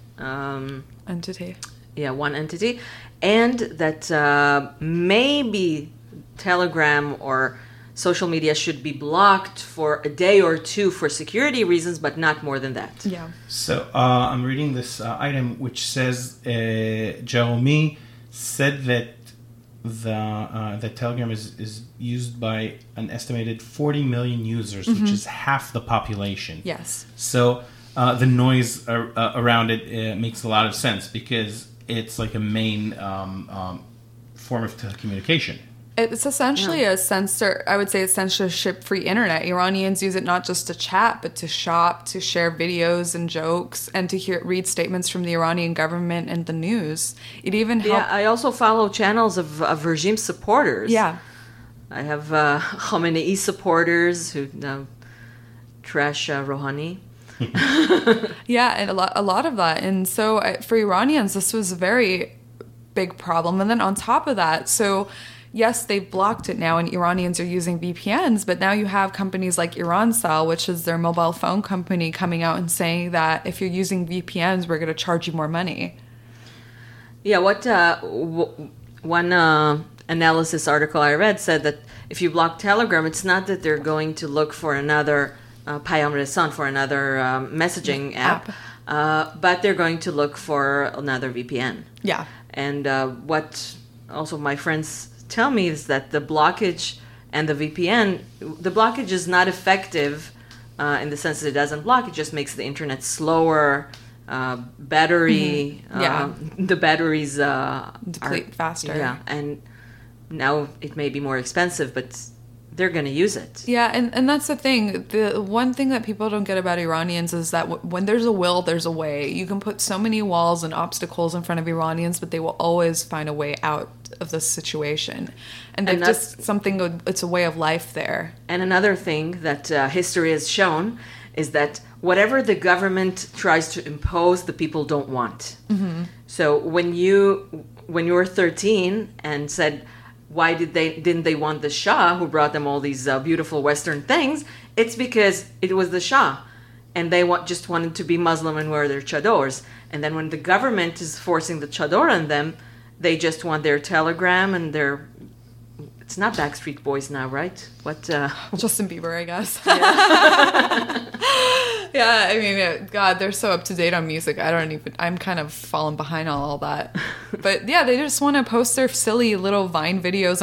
entity. Yeah, one entity. And that maybe Telegram or social media should be blocked for a day or two for security reasons, but not more than that. Yeah. So I'm reading this item which says Jeremy said that that Telegram is used by an estimated 40 million users, which is half the population. Yes. So the noise around it makes a lot of sense because it's like a main form of telecommunication. It's essentially a censorship-free internet. Iranians use it not just to chat, but to shop, to share videos and jokes, and to read statements from the Iranian government and the news. It even helps. Yeah, I also follow channels of regime supporters. Yeah. I have Khamenei supporters who trash Rouhani. Yeah, and a lot of that. And so for Iranians, this was a very big problem. And then on top of that, so yes, they've blocked it now and Iranians are using VPNs, but now you have companies like Irancell, which is their mobile phone company, coming out and saying that if you're using VPNs, we're going to charge you more money. Yeah, what one analysis article I read said that if you block Telegram, it's not that they're going to look for another Payam Resan, for another messaging app. But they're going to look for another VPN. Yeah. And what also my friends tell me is that the blockage and the VPN, the blockage is not effective in the sense that it doesn't block, it just makes the internet slower, battery, the batteries deplete faster. Yeah, and now it may be more expensive, but they're going to use it. Yeah, and that's the thing. The one thing that people don't get about Iranians is that when there's a will, there's a way. You can put so many walls and obstacles in front of Iranians, but they will always find a way out of this situation. And they've just something, it's a way of life there. And another thing that history has shown is that whatever the government tries to impose, the people don't want. Mm-hmm. So when you were 13 and said, why didn't they want the Shah who brought them all these beautiful Western things? It's because it was the Shah, and they just wanted to be Muslim and wear their chadors. And then when the government is forcing the chador on them, they just want their Telegram and their It's not Backstreet Boys now, right? What? Justin Bieber, I guess. Yeah, I mean, God, they're so up to date on music. I'm kind of falling behind on all that. But yeah, they just want to post their silly little Vine videos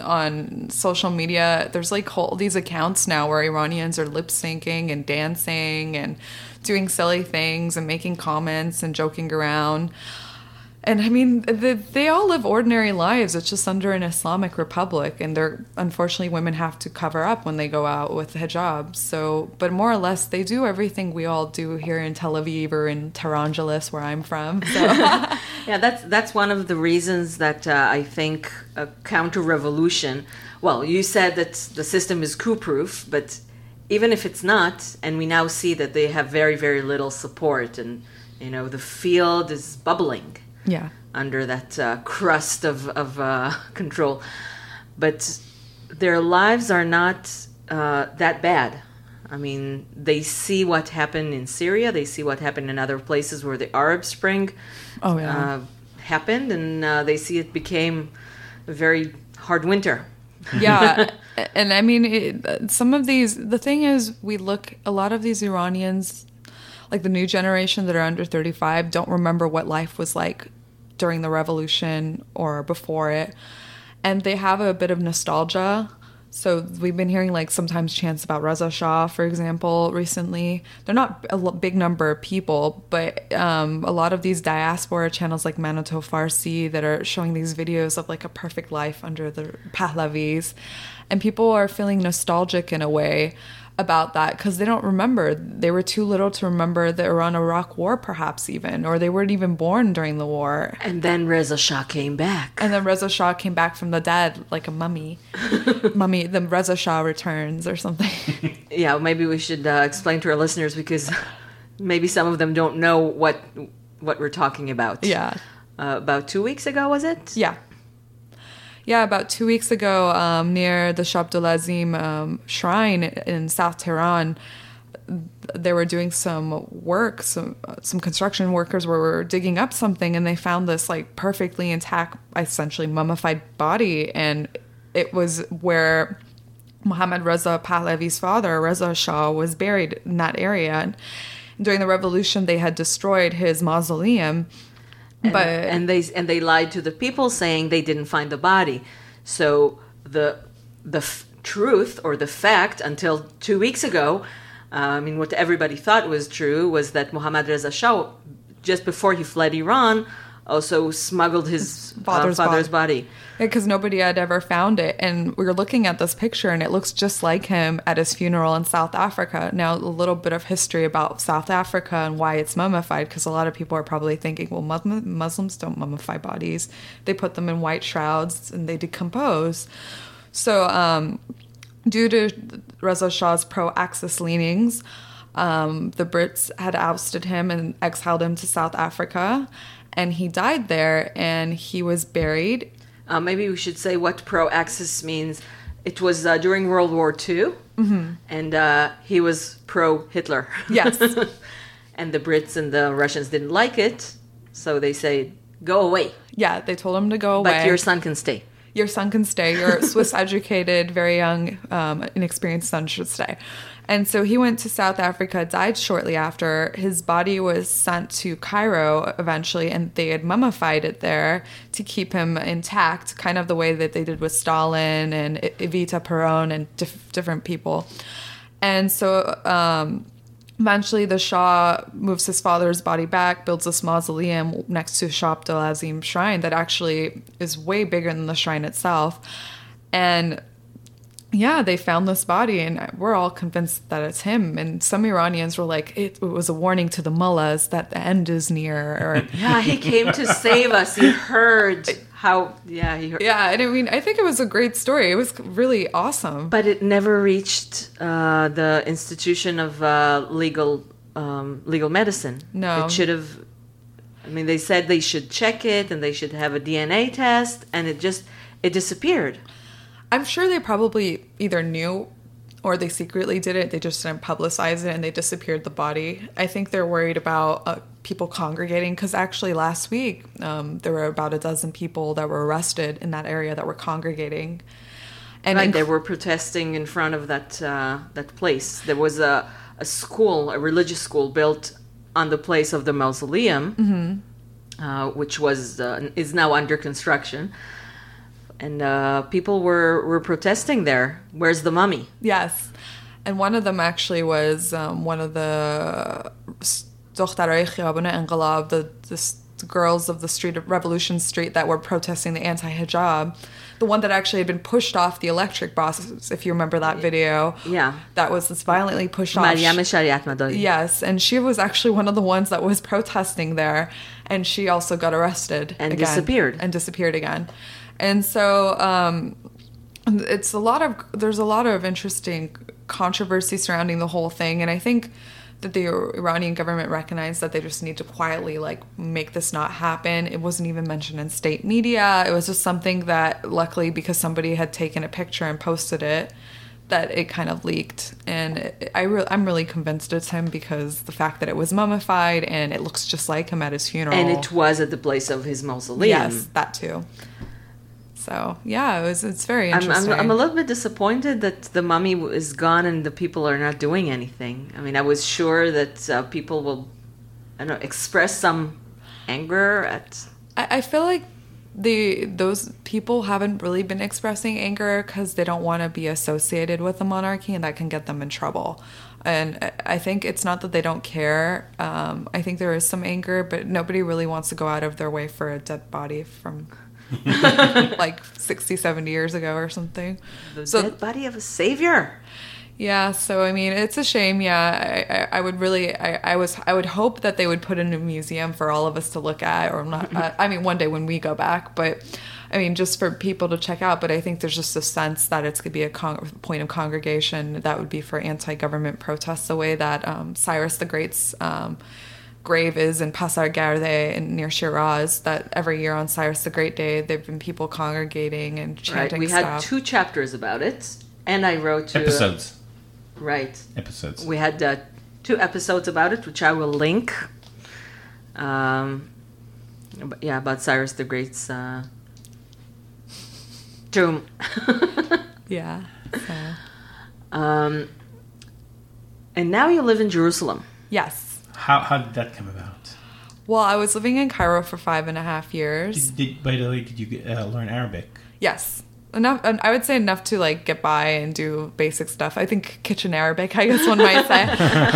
on social media. There's like these accounts now where Iranians are lip syncing and dancing and doing silly things and making comments and joking around. And I mean, they all live ordinary lives. It's just under an Islamic republic, and unfortunately, women have to cover up when they go out with hijab. So, but more or less, they do everything we all do here in Tel Aviv or in Tehran, where I'm from. So. Yeah, that's one of the reasons that I think a counter-revolution. Well, you said that the system is coup-proof, but even if it's not, and we now see that they have very, very little support, and the field is bubbling. Yeah. Under that crust of control. But their lives are not that bad. I mean, they see what happened in Syria. They see what happened in other places where the Arab Spring happened. And they see it became a very hard winter. Yeah. And I mean, the thing is, a lot of these Iranians, like the new generation that are under 35, don't remember what life was like during the revolution or before it. And they have a bit of nostalgia. So we've been hearing like sometimes chants about Reza Shah, for example, recently. They're not a big number of people, but a lot of these diaspora channels like Manato Farsi that are showing these videos of like a perfect life under the Pahlavis. And people are feeling nostalgic in a way about that because they don't remember. They were too little to remember the Iran-Iraq war, perhaps even, or they weren't even born during the war. And then Reza Shah came back. And then Reza Shah came back from the dead like a mummy. The Reza Shah returns or something. Yeah, maybe we should explain to our listeners because maybe some of them don't know what we're talking about. Yeah. About 2 weeks ago, was it? Yeah. Yeah, about 2 weeks ago, near the Shah Abdulazim shrine in South Tehran, they were doing some work. Some construction workers were digging up something, and they found this like perfectly intact, essentially mummified body, and it was where Mohammad Reza Pahlavi's father, Reza Shah, was buried in that area. And during the revolution, they had destroyed his mausoleum. And they lied to the people saying they didn't find the body. So the truth or the fact until 2 weeks ago, what everybody thought was true was that Mohammad Reza Shah, just before he fled Iran, also smuggled his father's body. Because nobody had ever found it. And we were looking at this picture, and it looks just like him at his funeral in South Africa. Now, a little bit of history about South Africa and why it's mummified, because a lot of people are probably thinking, well, Muslims don't mummify bodies. They put them in white shrouds, and they decompose. So due to Reza Shah's pro-Axis leanings, the Brits had ousted him and exiled him to South Africa. And he died there, and he was buried. Maybe we should say what pro-Axis means. It was during World War II, and he was pro-Hitler. Yes. And the Brits and the Russians didn't like it, so they say, go away. Yeah, they told him to go away. But your son can stay. Your son can stay. Your Swiss-educated, very young, inexperienced son should stay. And so he went to South Africa, died shortly after. His body was sent to Cairo eventually, and they had mummified it there to keep him intact, kind of the way that they did with Stalin and Evita Peron and different people. And so eventually the Shah moves his father's body back, builds this mausoleum next to Shah Abdulazim shrine that actually is way bigger than the shrine itself. And yeah, they found this body, and we're all convinced that it's him. And some Iranians were like, it was a warning to the mullahs that the end is near. Or yeah, he came to save us. He heard how, yeah. He heard. Yeah, and I mean, I think it was a great story. It was really awesome. But it never reached the institution of legal medicine. No. It should have, they said they should check it, and they should have a DNA test, and it disappeared. I'm sure they probably either knew or they secretly did it. They just didn't publicize it, and they disappeared the body. I think they're worried about people congregating, because actually last week there were about a dozen people that were arrested in that area that were congregating. And Right, they were protesting in front of that place. There was a school, a religious school built on the place of the mausoleum, which is now under construction. And people were protesting there. Where's the mummy? Yes. And one of them actually was one of the دخترای خیابان انقلاب, the girls of the street of Revolution Street that were protesting the anti-hijab. The one that actually had been pushed off the electric bus, if you remember that video. Yeah. That was violently pushed off. Maryam Shariat Madani. Yes, and she was actually one of the ones that was protesting there, and she also got arrested And again, disappeared again. And so there's a lot of interesting controversy surrounding the whole thing, and I think that the Iranian government recognized that they just need to quietly make this not happen. It wasn't even mentioned in state media. It was just something that, luckily, because somebody had taken a picture and posted it, that it kind of leaked. And I'm really convinced it's him because the fact that it was mummified and it looks just like him at his funeral. And it was at the place of his mausoleum. Yes, that too. So, yeah, it's very interesting. I'm a little bit disappointed that the mummy is gone and the people are not doing anything. I mean, I was sure that people will, express some anger at... I feel like those people haven't really been expressing anger because they don't want to be associated with the monarchy, and that can get them in trouble. And I think it's not that they don't care. I think there is some anger, but nobody really wants to go out of their way for a dead body from... 60, 70 years ago or something. The dead body of a savior. Yeah, so I mean, it's a shame. Yeah, I would really, I would hope that they would put in a museum for all of us to look at, or not. I mean, one day when we go back, but I mean, just for people to check out. But I think there's just a sense that it's going to be a point of congregation that would be for anti-government protests, the way that Cyrus the Great's grave is in Pasar Gerde near Shiraz, that every year on Cyrus the Great Day, there have been people congregating and chanting We had 2 chapters about it, and I wrote episodes. Episodes. We had 2 episodes about it, which I will link. About Cyrus the Great's tomb. Yeah. So. And now you live in Jerusalem. Yes. How did that come about? Well, I was living in Cairo for 5.5 years. By the way, did you learn Arabic? Yes. Enough. I would say enough to get by and do basic stuff. I think kitchen Arabic, I guess one might say.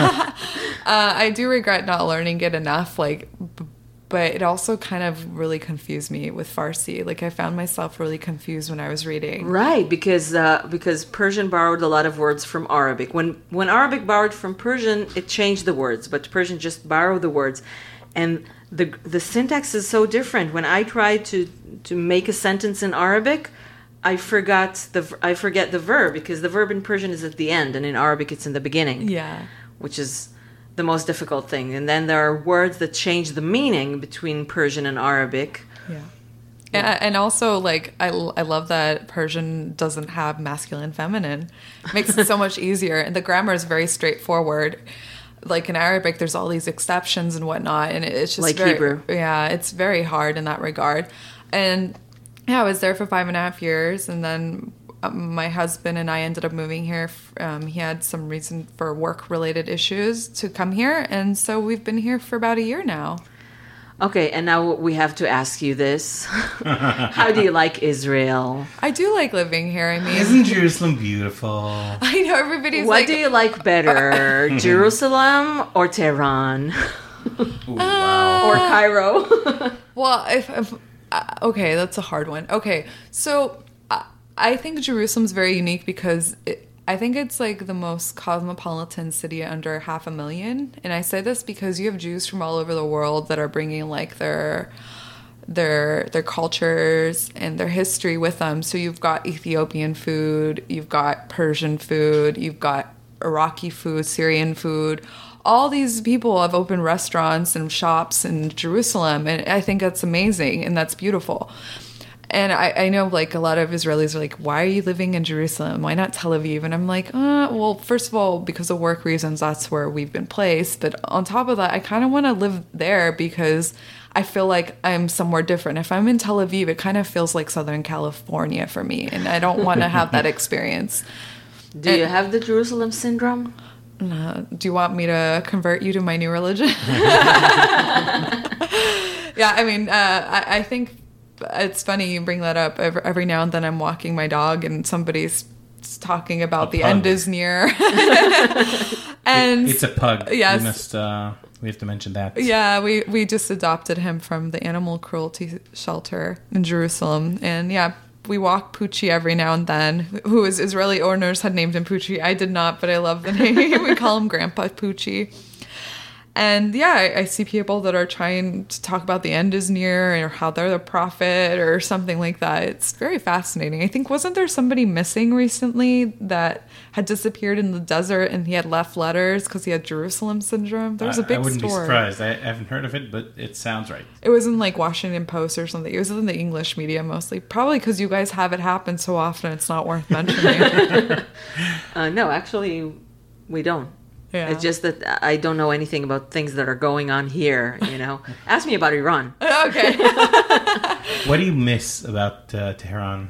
I do regret not learning it enough, but it also kind of really confused me with Farsi. I found myself really confused when I was reading. Right, because Persian borrowed a lot of words from Arabic. When Arabic borrowed from Persian, it changed the words, but Persian just borrowed the words. And the syntax is so different. When I try to make a sentence in Arabic, I forget the verb, because the verb in Persian is at the end, and in Arabic it's in the beginning. Yeah. Which is the most difficult thing. And then there are words that change the meaning between Persian and Arabic. Yeah. And also, I love that Persian doesn't have masculine, feminine. It makes it so much easier. And the grammar is very straightforward. In Arabic, there's all these exceptions and whatnot. And it's just Hebrew. Yeah, it's very hard in that regard. And yeah, I was there for 5.5 years. And then my husband and I ended up moving here. He had some reason for work-related issues to come here. And so we've been here for about a year now. Okay, and now we have to ask you this. How do you like Israel? I do like living here. I mean, isn't Jerusalem beautiful? I know everybody's What do you like better, Jerusalem or Tehran? Ooh, wow. Or Cairo? Well, okay, that's a hard one. Okay, so I think Jerusalem's very unique because I think it's the most cosmopolitan city under 500,000. And I say this because you have Jews from all over the world that are bringing their cultures and their history with them. So you've got Ethiopian food, you've got Persian food, you've got Iraqi food, Syrian food. All these people have opened restaurants and shops in Jerusalem, and I think that's amazing and that's beautiful. And I know like a lot of Israelis are like, why are you living in Jerusalem? Why not Tel Aviv? And I'm like, well, first of all, because of work reasons, that's where we've been placed. But on top of that, I kind of want to live there because I feel like I'm somewhere different. If I'm in Tel Aviv, it kind of feels like Southern California for me. And I don't want to have that experience. Do you have the Jerusalem syndrome? Do you want me to convert you to my new religion? Yeah, I mean, I think it's funny you bring that up. Every now and then I'm walking my dog and somebody's talking about the end is near. And it's a pug. Yes. We have to mention that. Yeah, we just adopted him from the animal cruelty shelter in Jerusalem. And yeah, we walk Poochie every now and then, who is Israeli owners had named him Poochie. I did not, but I love the name. We call him Grandpa Poochie. And yeah, I see people that are trying to talk about the end is near or how they're the prophet or something like that. It's very fascinating. I think, wasn't there somebody missing recently that had disappeared in the desert and he had left letters because he had Jerusalem syndrome? There was a big story. I wouldn't be surprised. I haven't heard of it, but it sounds right. It was in like Washington Post or something. It was in the English media mostly. Probably because you guys have it happen so often, it's not worth mentioning. No, actually, we don't. Yeah. It's just that I don't know anything about things that are going on here, you know. Ask me about Iran. Okay. What do you miss about Tehran?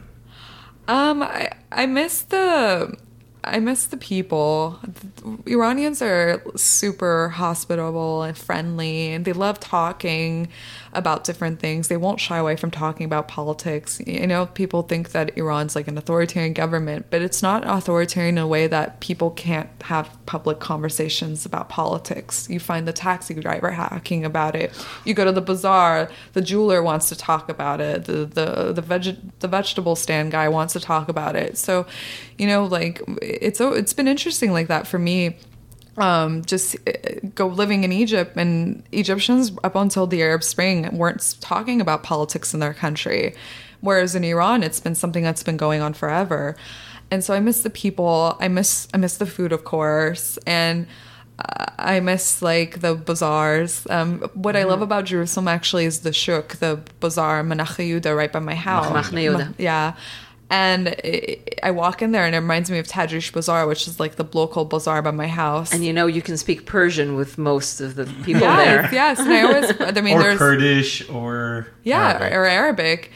I miss the people. Iranians are super hospitable and friendly, and they love talking about different things. They won't shy away from talking about politics. You know, people think that Iran's like an authoritarian government, but it's not authoritarian in a way that people can't have public conversations about politics. You find the taxi driver hacking about it. You go to the bazaar, the jeweler wants to talk about it. The vegetable stand guy wants to talk about it. So, you know, like it's been interesting like that for me. Just go living in Egypt, and Egyptians up until the Arab Spring weren't talking about politics in their country, whereas in Iran it's been something that's been going on forever. And so I miss the people. I miss the food, of course, and I miss like the bazaars. What I love about Jerusalem actually is the shuk, the bazaar Menach Yehuda right by my house. Machne Yehuda. Yeah. And I walk in there and it reminds me of Tadrish Bazaar, which is like the local bazaar by my house. And you know, you can speak Persian with most of the people there. Yes, and I mean, or there's Kurdish or Arabic. or Arabic.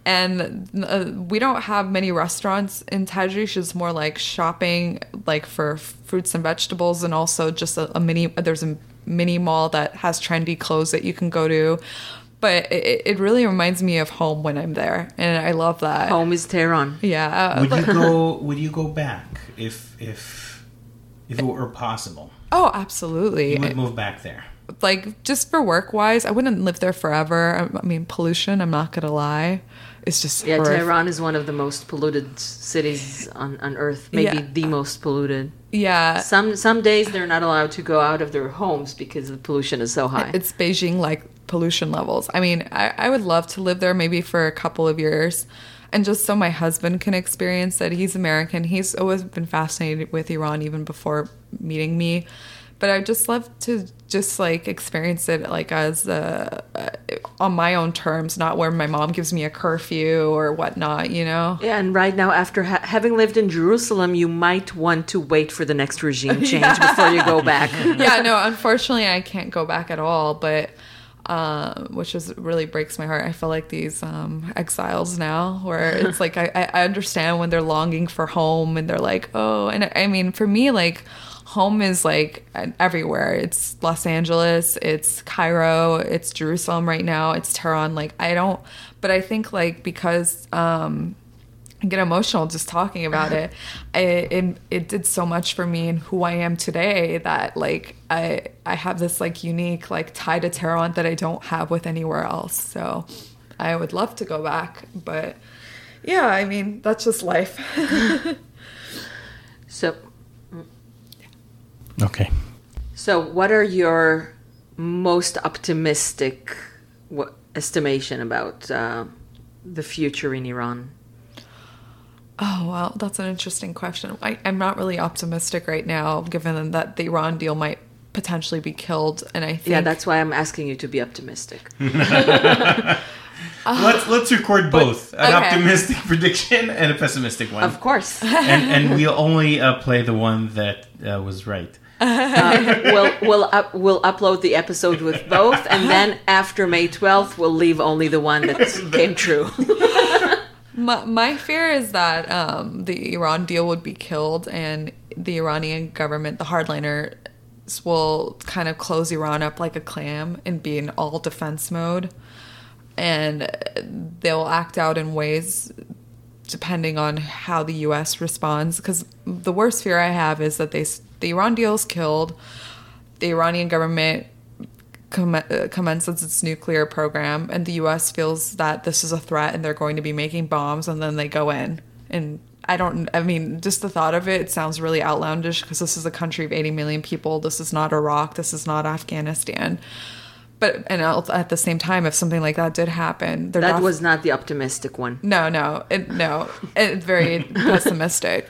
And we don't have many restaurants in Tadrish. It's more like shopping, like for fruits and vegetables, and also just there's a mini mall that has trendy clothes that you can go to. But it really reminds me of home when I'm there, and I love that. Home is Tehran. Yeah. Would you go back if it were possible? Oh, absolutely. You would move back there. Like, just for work-wise, I wouldn't live there forever. I mean, pollution, I'm not going to lie. It's just horrific. Tehran is one of the most polluted cities on Earth. Maybe the most polluted. Yeah. Some days they're not allowed to go out of their homes because the pollution is so high. It's Beijing-like pollution levels. I mean, I would love to live there maybe for a couple of years, and just so my husband can experience it. He's American. He's always been fascinated with Iran even before meeting me. But I'd just love to just like experience it like as on my own terms, not where my mom gives me a curfew or whatnot, you know? Yeah, and right now, after having lived in Jerusalem, you might want to wait for the next regime change before you go back. Yeah, no, unfortunately, I can't go back at all, but which really breaks my heart. I feel like these exiles now, where it's like I understand when they're longing for home and they're like, oh, and I mean, for me, like, home is like everywhere. It's Los Angeles, it's Cairo, it's Jerusalem right now, it's Tehran. Like, but I think like because I get emotional just talking about it. It did so much for me and who I am today that like I have this like unique like tie to Tehran that I don't have with anywhere else. So I would love to go back, but yeah, I mean, that's just life. Okay. So what are your most optimistic estimation about the future in Iran? Oh, well, that's an interesting question. I'm not really optimistic right now, given that the Iran deal might potentially be killed. And I think... Yeah, that's why I'm asking you to be optimistic. Let's record both. An okay. optimistic prediction and a pessimistic one. Of course. And we'll only play the one that was right. We'll upload the episode with both, and then after May 12th, we'll leave only the one that came true. My fear is that the Iran deal would be killed, and the Iranian government, the hardliners, will kind of close Iran up like a clam and be in all defense mode, and they'll act out in ways depending on how the U.S. responds. Because the worst fear I have is that the Iran deal is killed, the Iranian government commences its nuclear program, and the U.S. feels that this is a threat and they're going to be making bombs, and then they go in. And just the thought of it sounds really outlandish, because this is a country of 80 million people. This is not Iraq. This is not Afghanistan. But at the same time, if something like that did happen, that was not the optimistic one. No, it's very pessimistic.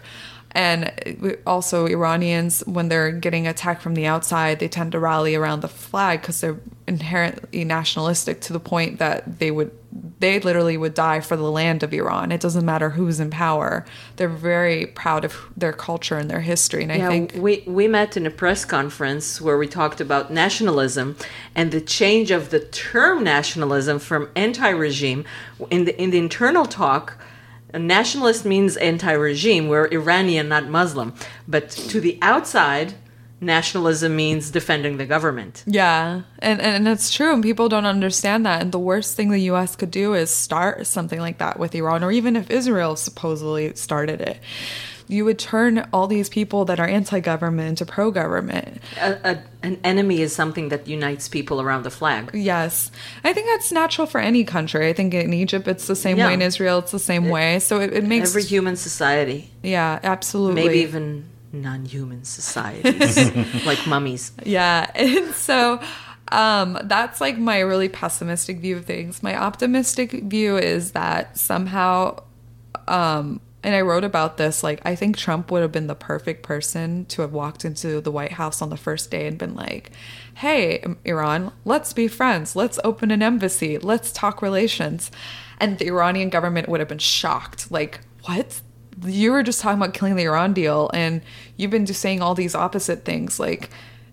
And also, Iranians, when they're getting attacked from the outside, they tend to rally around the flag because they're inherently nationalistic, to the point that they literally would die for the land of Iran. It doesn't matter who's in power. They're very proud of their culture and their history. And I think we met in a press conference where we talked about nationalism and the change of the term nationalism from anti-regime. In the internal talk, a nationalist means anti-regime. We're Iranian, not Muslim. But to the outside, nationalism means defending the government. Yeah, and it's true, and people don't understand that. And the worst thing the U.S. could do is start something like that with Iran, or even if Israel supposedly started it. You would turn all these people that are anti-government into pro-government. An enemy is something that unites people around the flag. Yes. I think that's natural for any country. I think in Egypt it's the same way, in Israel it's the same way. So it makes... Every human society. Yeah, absolutely. Maybe even non-human societies, like mummies. Yeah, and so... that's like my really pessimistic view of things. My optimistic view is that somehow... and I wrote about this, like, I think Trump would have been the perfect person to have walked into the White House on the first day and been like, hey, Iran, let's be friends. Let's open an embassy. Let's talk relations. And the Iranian government would have been shocked. Like, what? You were just talking about killing the Iran deal, and you've been just saying all these opposite things. Like,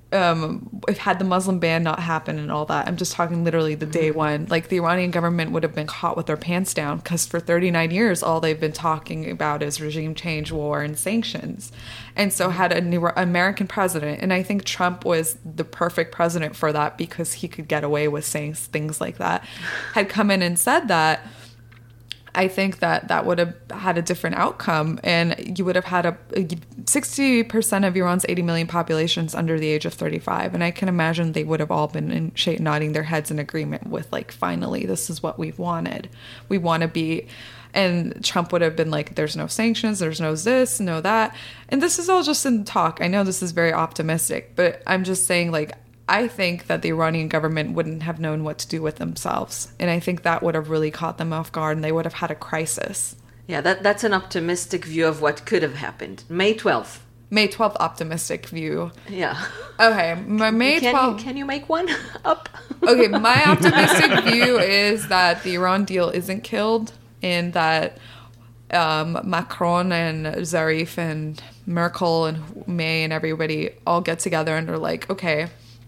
if had the Muslim ban not happened and all that, I'm just talking literally the day one, like the Iranian government would have been caught with their pants down, because for 39 years, all they've been talking about is regime change, war, and sanctions. And so had an American president, and I think Trump was the perfect president for that, because he could get away with saying things like that, had come in and said that, I think that would have had a different outcome, and you would have had 60% of Iran's 80 million populations under the age of 35, and I can imagine they would have all been nodding their heads in agreement with, like, finally, this is what we've wanted. We want to be, and Trump would have been like, there's no sanctions, there's no this, no that, and this is all just in talk. I know this is very optimistic, but I'm just saying, like, I think that the Iranian government wouldn't have known what to do with themselves. And I think that would have really caught them off guard, and they would have had a crisis. Yeah, that's an optimistic view of what could have happened. May 12th. May 12th optimistic view. Yeah. Okay, my May 12th... Can you make one up? Okay, my optimistic view is that the Iran deal isn't killed, and that Macron and Zarif and Merkel and May and everybody all get together and are like, okay...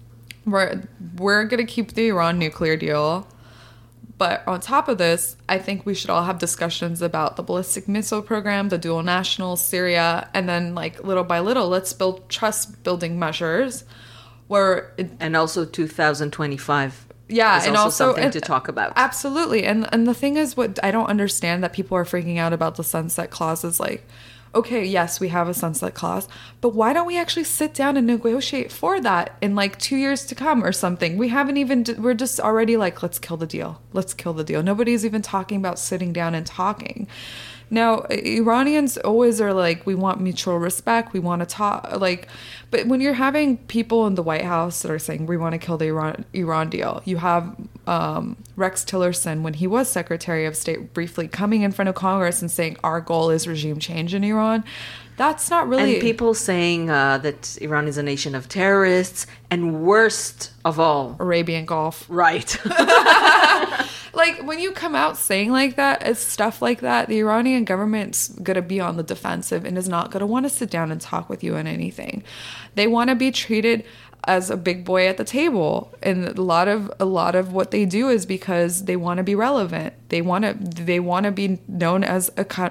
We're going to keep the Iran nuclear deal. But on top of this, I think we should all have discussions about the ballistic missile program, the dual nationals, Syria, and then, like, little by little, let's build trust-building measures and also 2025. Yeah, is and also something and, to talk about. Absolutely. And the thing is, what I don't understand that people are freaking out about the sunset clause is, like, okay, yes, we have a sunset clause, but why don't we actually sit down and negotiate for that in, like, 2 years to come or something? We're just already like, let's kill the deal. Let's kill the deal. Nobody's even talking about sitting down and talking. Now, Iranians always are like, we want mutual respect. We want to talk, like, but when you're having people in the White House that are saying, we want to kill the Iran deal, you have Rex Tillerson, when he was Secretary of State briefly, coming in front of Congress and saying, our goal is regime change in Iran. That's not really... And people saying that Iran is a nation of terrorists, and worst of all... Arabian Gulf. Right. like when you come out saying like that, it's stuff like that, the Iranian government's gonna be on the defensive and is not gonna want to sit down and talk with you on anything. They want to be treated as a big boy at the table, and a lot of what they do is because they want to be relevant. They want to be known as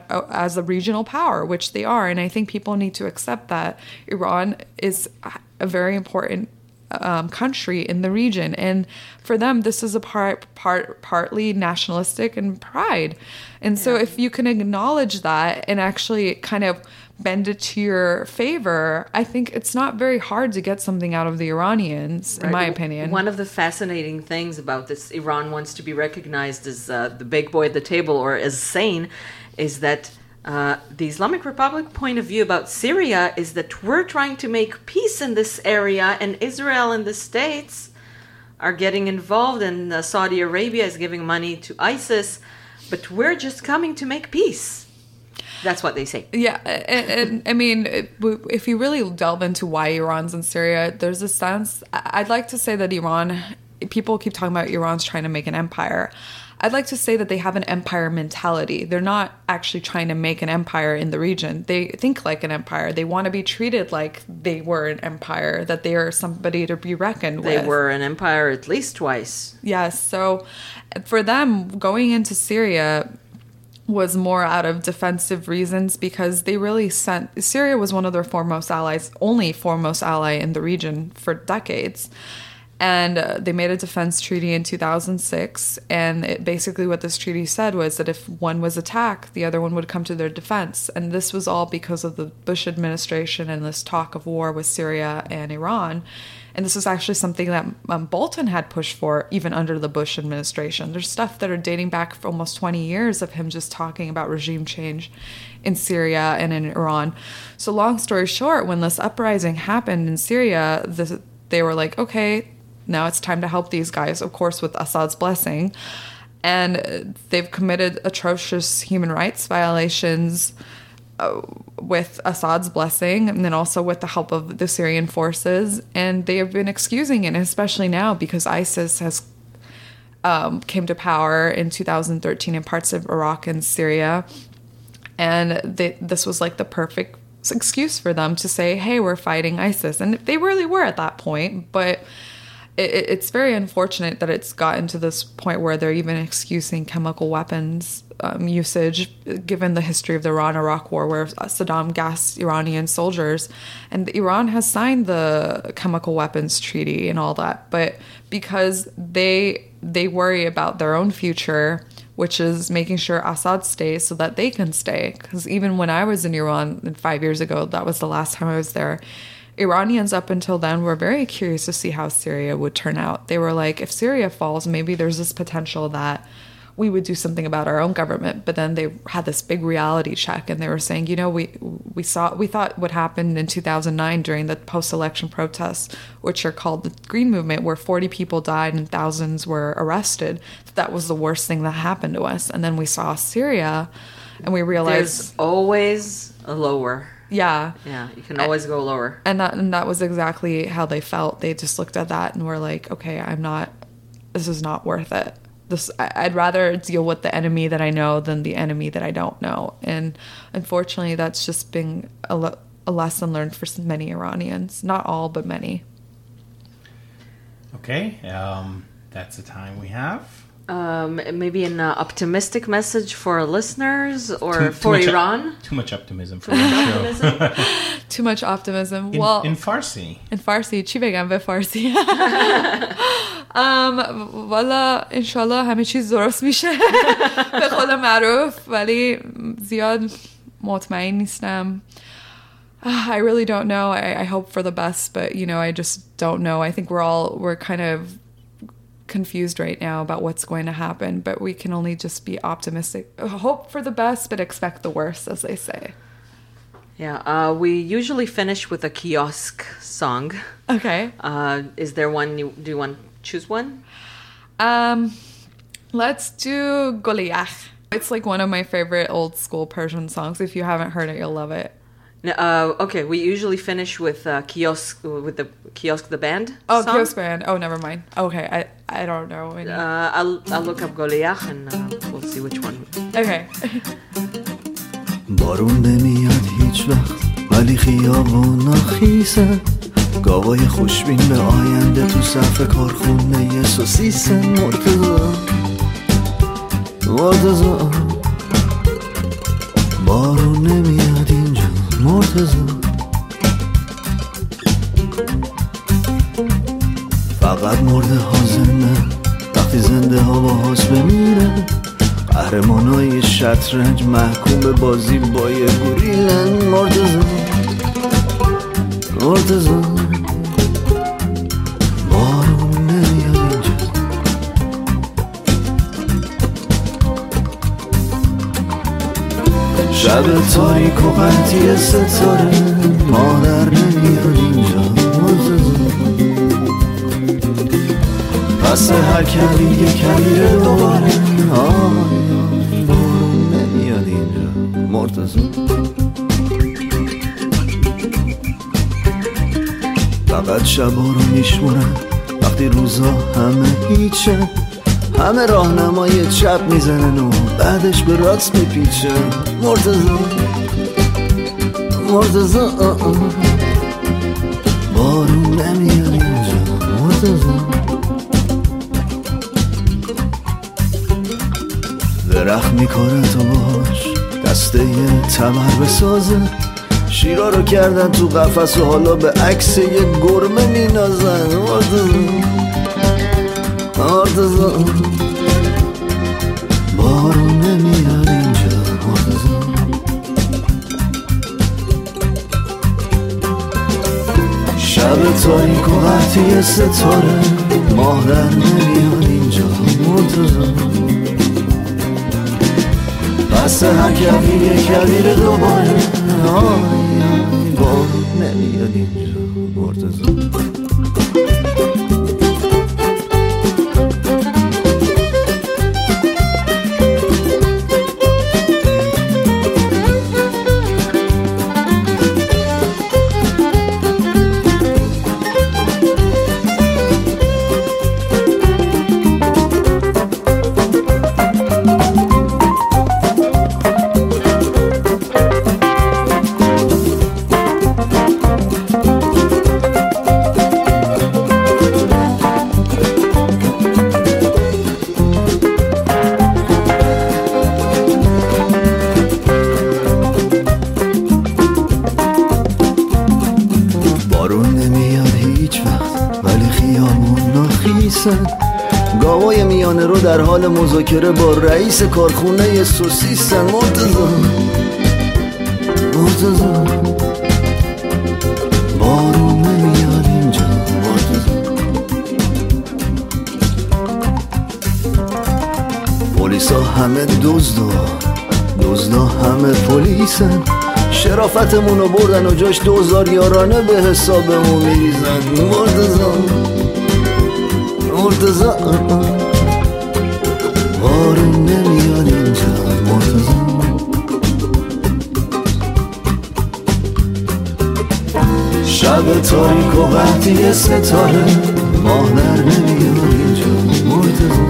a regional power, which they are, and I think people need to accept that Iran is a very important country in the region, and for them this is a partly nationalistic and pride. And so if you can acknowledge that and actually kind of bend it to your favor, I think it's not very hard to get something out of the Iranians, in my opinion. One of the fascinating things about this, Iran wants to be recognized as the big boy at the table or as sane, is that the Islamic Republic point of view about Syria is that we're trying to make peace in this area, and Israel and the States are getting involved, and Saudi Arabia is giving money to ISIS, but we're just coming to make peace. That's what they say. Yeah, and I mean, if you really delve into why Iran's in Syria, there's a sense, I'd like to say that Iran, people keep talking about Iran's trying to make an empire. I'd like to say that they have an empire mentality. They're not actually trying to make an empire in the region. They think like an empire. They want to be treated like they were an empire, that they are somebody to be reckoned with. They were an empire at least twice. Yes, so for them, going into Syria was more out of defensive reasons, because they really Syria was one of their foremost allies, only foremost ally in the region for decades. And they made a defense treaty in 2006. And basically what this treaty said was that if one was attacked, the other one would come to their defense. And this was all because of the Bush administration and this talk of war with Syria and Iran. And this is actually something that Bolton had pushed for even under the Bush administration. There's stuff that are dating back for almost 20 years of him just talking about regime change in Syria and in Iran. So long story short, when this uprising happened in Syria, they were like, okay, now it's time to help these guys, of course, with Assad's blessing. And they've committed atrocious human rights violations with Assad's blessing, and then also with the help of the Syrian forces. And they have been excusing it, especially now because ISIS has came to power in 2013 in parts of Iraq and Syria. And this was like the perfect excuse for them to say, hey, we're fighting ISIS. And they really were at that point, but it's very unfortunate that it's gotten to this point where they're even excusing chemical weapons usage, given the history of the Iran-Iraq war, where Saddam gassed Iranian soldiers. And Iran has signed the chemical weapons treaty and all that. But because they worry about their own future, which is making sure Assad stays so that they can stay. Because even when I was in Iran 5 years ago, that was the last time I was there, Iranians up until then were very curious to see how Syria would turn out. They were like, if Syria falls, maybe there's this potential that we would do something about our own government. But then they had this big reality check, and they were saying, you know, we thought what happened in 2009 during the post-election protests, which are called the Green Movement, where 40 people died and thousands were arrested. That was the worst thing that happened to us. And then we saw Syria, and we realized there's always a lower. Yeah. Yeah, you can always go lower. And that was exactly how they felt. They just looked at that and were like, okay, this is not worth it. I'd rather deal with the enemy that I know than the enemy that I don't know. And unfortunately, that's just been a lesson learned for many Iranians. Not all, but many. Okay, that's the time we have. Maybe an optimistic message for our listeners or for Iran? Too much optimism for the show. Too much optimism. In Farsi. In Farsi. چی بگم به فارسی؟ والا انشالله همه چیز درست میشه به خدا معروف، ولی زیاد مطمئن نیستم. I really don't know. I hope for the best, but you know, I just don't know. I think we're kind of confused right now about what's going to happen, but we can only just be optimistic, hope for the best, but expect the worst, as they say. Yeah, we usually finish with a kiosk song. Okay. Is there one? Do you want to choose one? Let's do Goliath. It's like one of my favorite old school Persian songs. If you haven't heard it, you'll love it. Okay, we usually finish with Kiosk, with the Kiosk the band. Oh, song. Kiosk band. Oh, never mind. Okay, I don't know any. I'll look up Goliath and we'll see which one. Okay. بارون نمیاد هیچ وقت ولی خیابون خیسه گاوای خوشبین به آینده تو صف کارخونه سوسیسن مرتضی بارون نمیاد اینجا مرتضی فقط مرده ها زنده وقتی زنده ها با هاست بمیره قهرمانای شطرنج محکوم به بازی با یه گوریلن مرتضی بارون نمیاد اینجا شب تاریک و قطعی ستاره مادر نمیاد اینجا مرتضی پس هر کلی یه کلیه دوباره بارون نمیاد اینجا مرتضی فقط شبا رو میشمونن وقتی روزا همه هیچه همه راهنمای چپ میزنن و بعدش به راست میپیچه مرتضی بارون نمیاد اینجا مرتضی درخت میکنه تو باش دسته یه تمر بسازه شیرا رو کردن تو قفس و حالا به عکس یه گرمه مینازن مرتضی بارون نمیاد اینجا مرتضی شب تاریک و قطعی ستاره ماه در نمیاد اینجا مرتضی پس هر کبیر یه کبیر دوباره بارون نمیاد اینجا مرتضی گاوای میانه رو در حال مذاکره با رئیس کارخونه سوسیسن مرتضی بارون نمیاد اینجا مرتضی پلیسا همه دزدا همه پلیسن شرافتمونو بردن و جاش 2000 یارانه به حسابمون میریزن مرتضی بارون نمیاد اینجا مرتضی شب تاریک و قطعی ستاره ماه در نمیاد اینجا مرتضی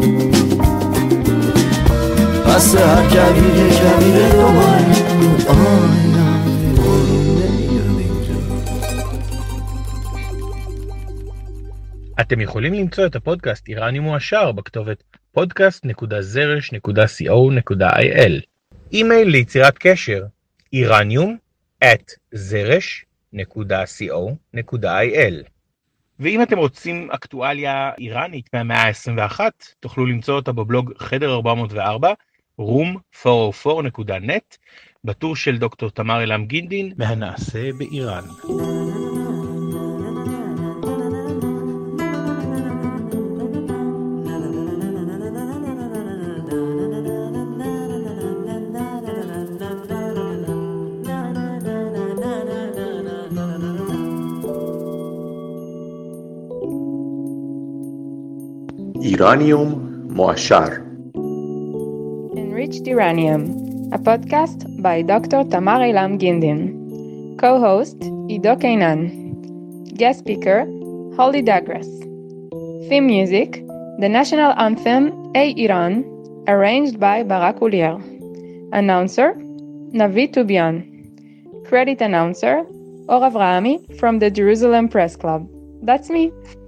پس هر کبیر یه کبیر دوباره بارون نمیاد اینجا. אתם יכולים למצוא את הפודקאסט איראניום מועשר בכתובת podcast.zrsh.co.il. אימייל ליצירת קשר iranium@zrsh.co.il. ואם אתם רוצים אקטואליה איראנית מהמאה ה-21, תוכלו למצוא אותה בבלוג חדר 404, room404.net, בטור של דוקטור תמר אילם גינדין, מהנעשה באיראן. איראניום מועשר. Enriched Iranium, a podcast by Dr. Tamar Eilam Gindin. Co-host Ido Kainan. Guest speaker Holly Douglas. Theme music The national anthem, Ey Iran, arranged by Barak Ulier. Announcer, Navi Tubian. Credit announcer, Or Avrahami from the Jerusalem Press Club. That's me.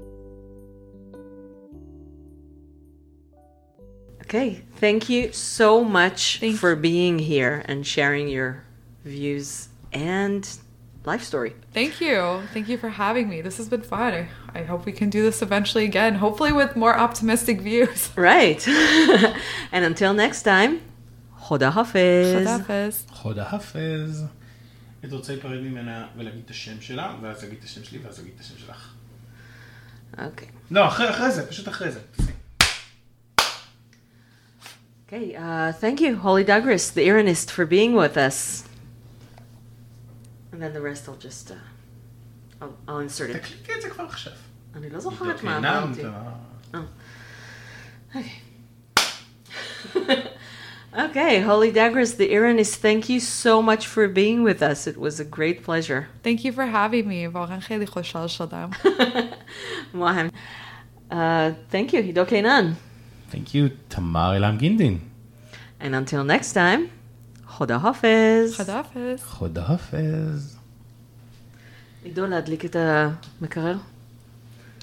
Okay, thank you so much for being here and sharing your views and life story. Thank you. Thank you for having me. This has been fun. I hope we can do this eventually again, hopefully with more optimistic views. Right. And until next time, Choda Hafiz. Choda Hafiz. חודה חפז. הייתי רוצה להיפרד ממנה ולהגיד את השם שלה, ואז להגיד את השם שלי, ואז להגיד את השם שלך. Okay. לא, אחרי זה, פשוט אחרי זה. Okay, thank you, Holly Douglas, the Iranist, for being with us. And then the rest I'll just, I'll insert it. תקליטי את זה כבר עכשיו. אני לא זוכרת מה אמרתי. Okay, Holly Douglas, the Iranist, thank you so much for being with us. It was a great pleasure. Thank you for having me. واقعا خیلی خوشحال شدم. Mohem. Thank you, Hido Keinan. Thank you, Tamar Elam Gindin. And until next time, Choda Hafiz. Choda Hafiz. חודה חפז. עידו, להדליק את המקרר?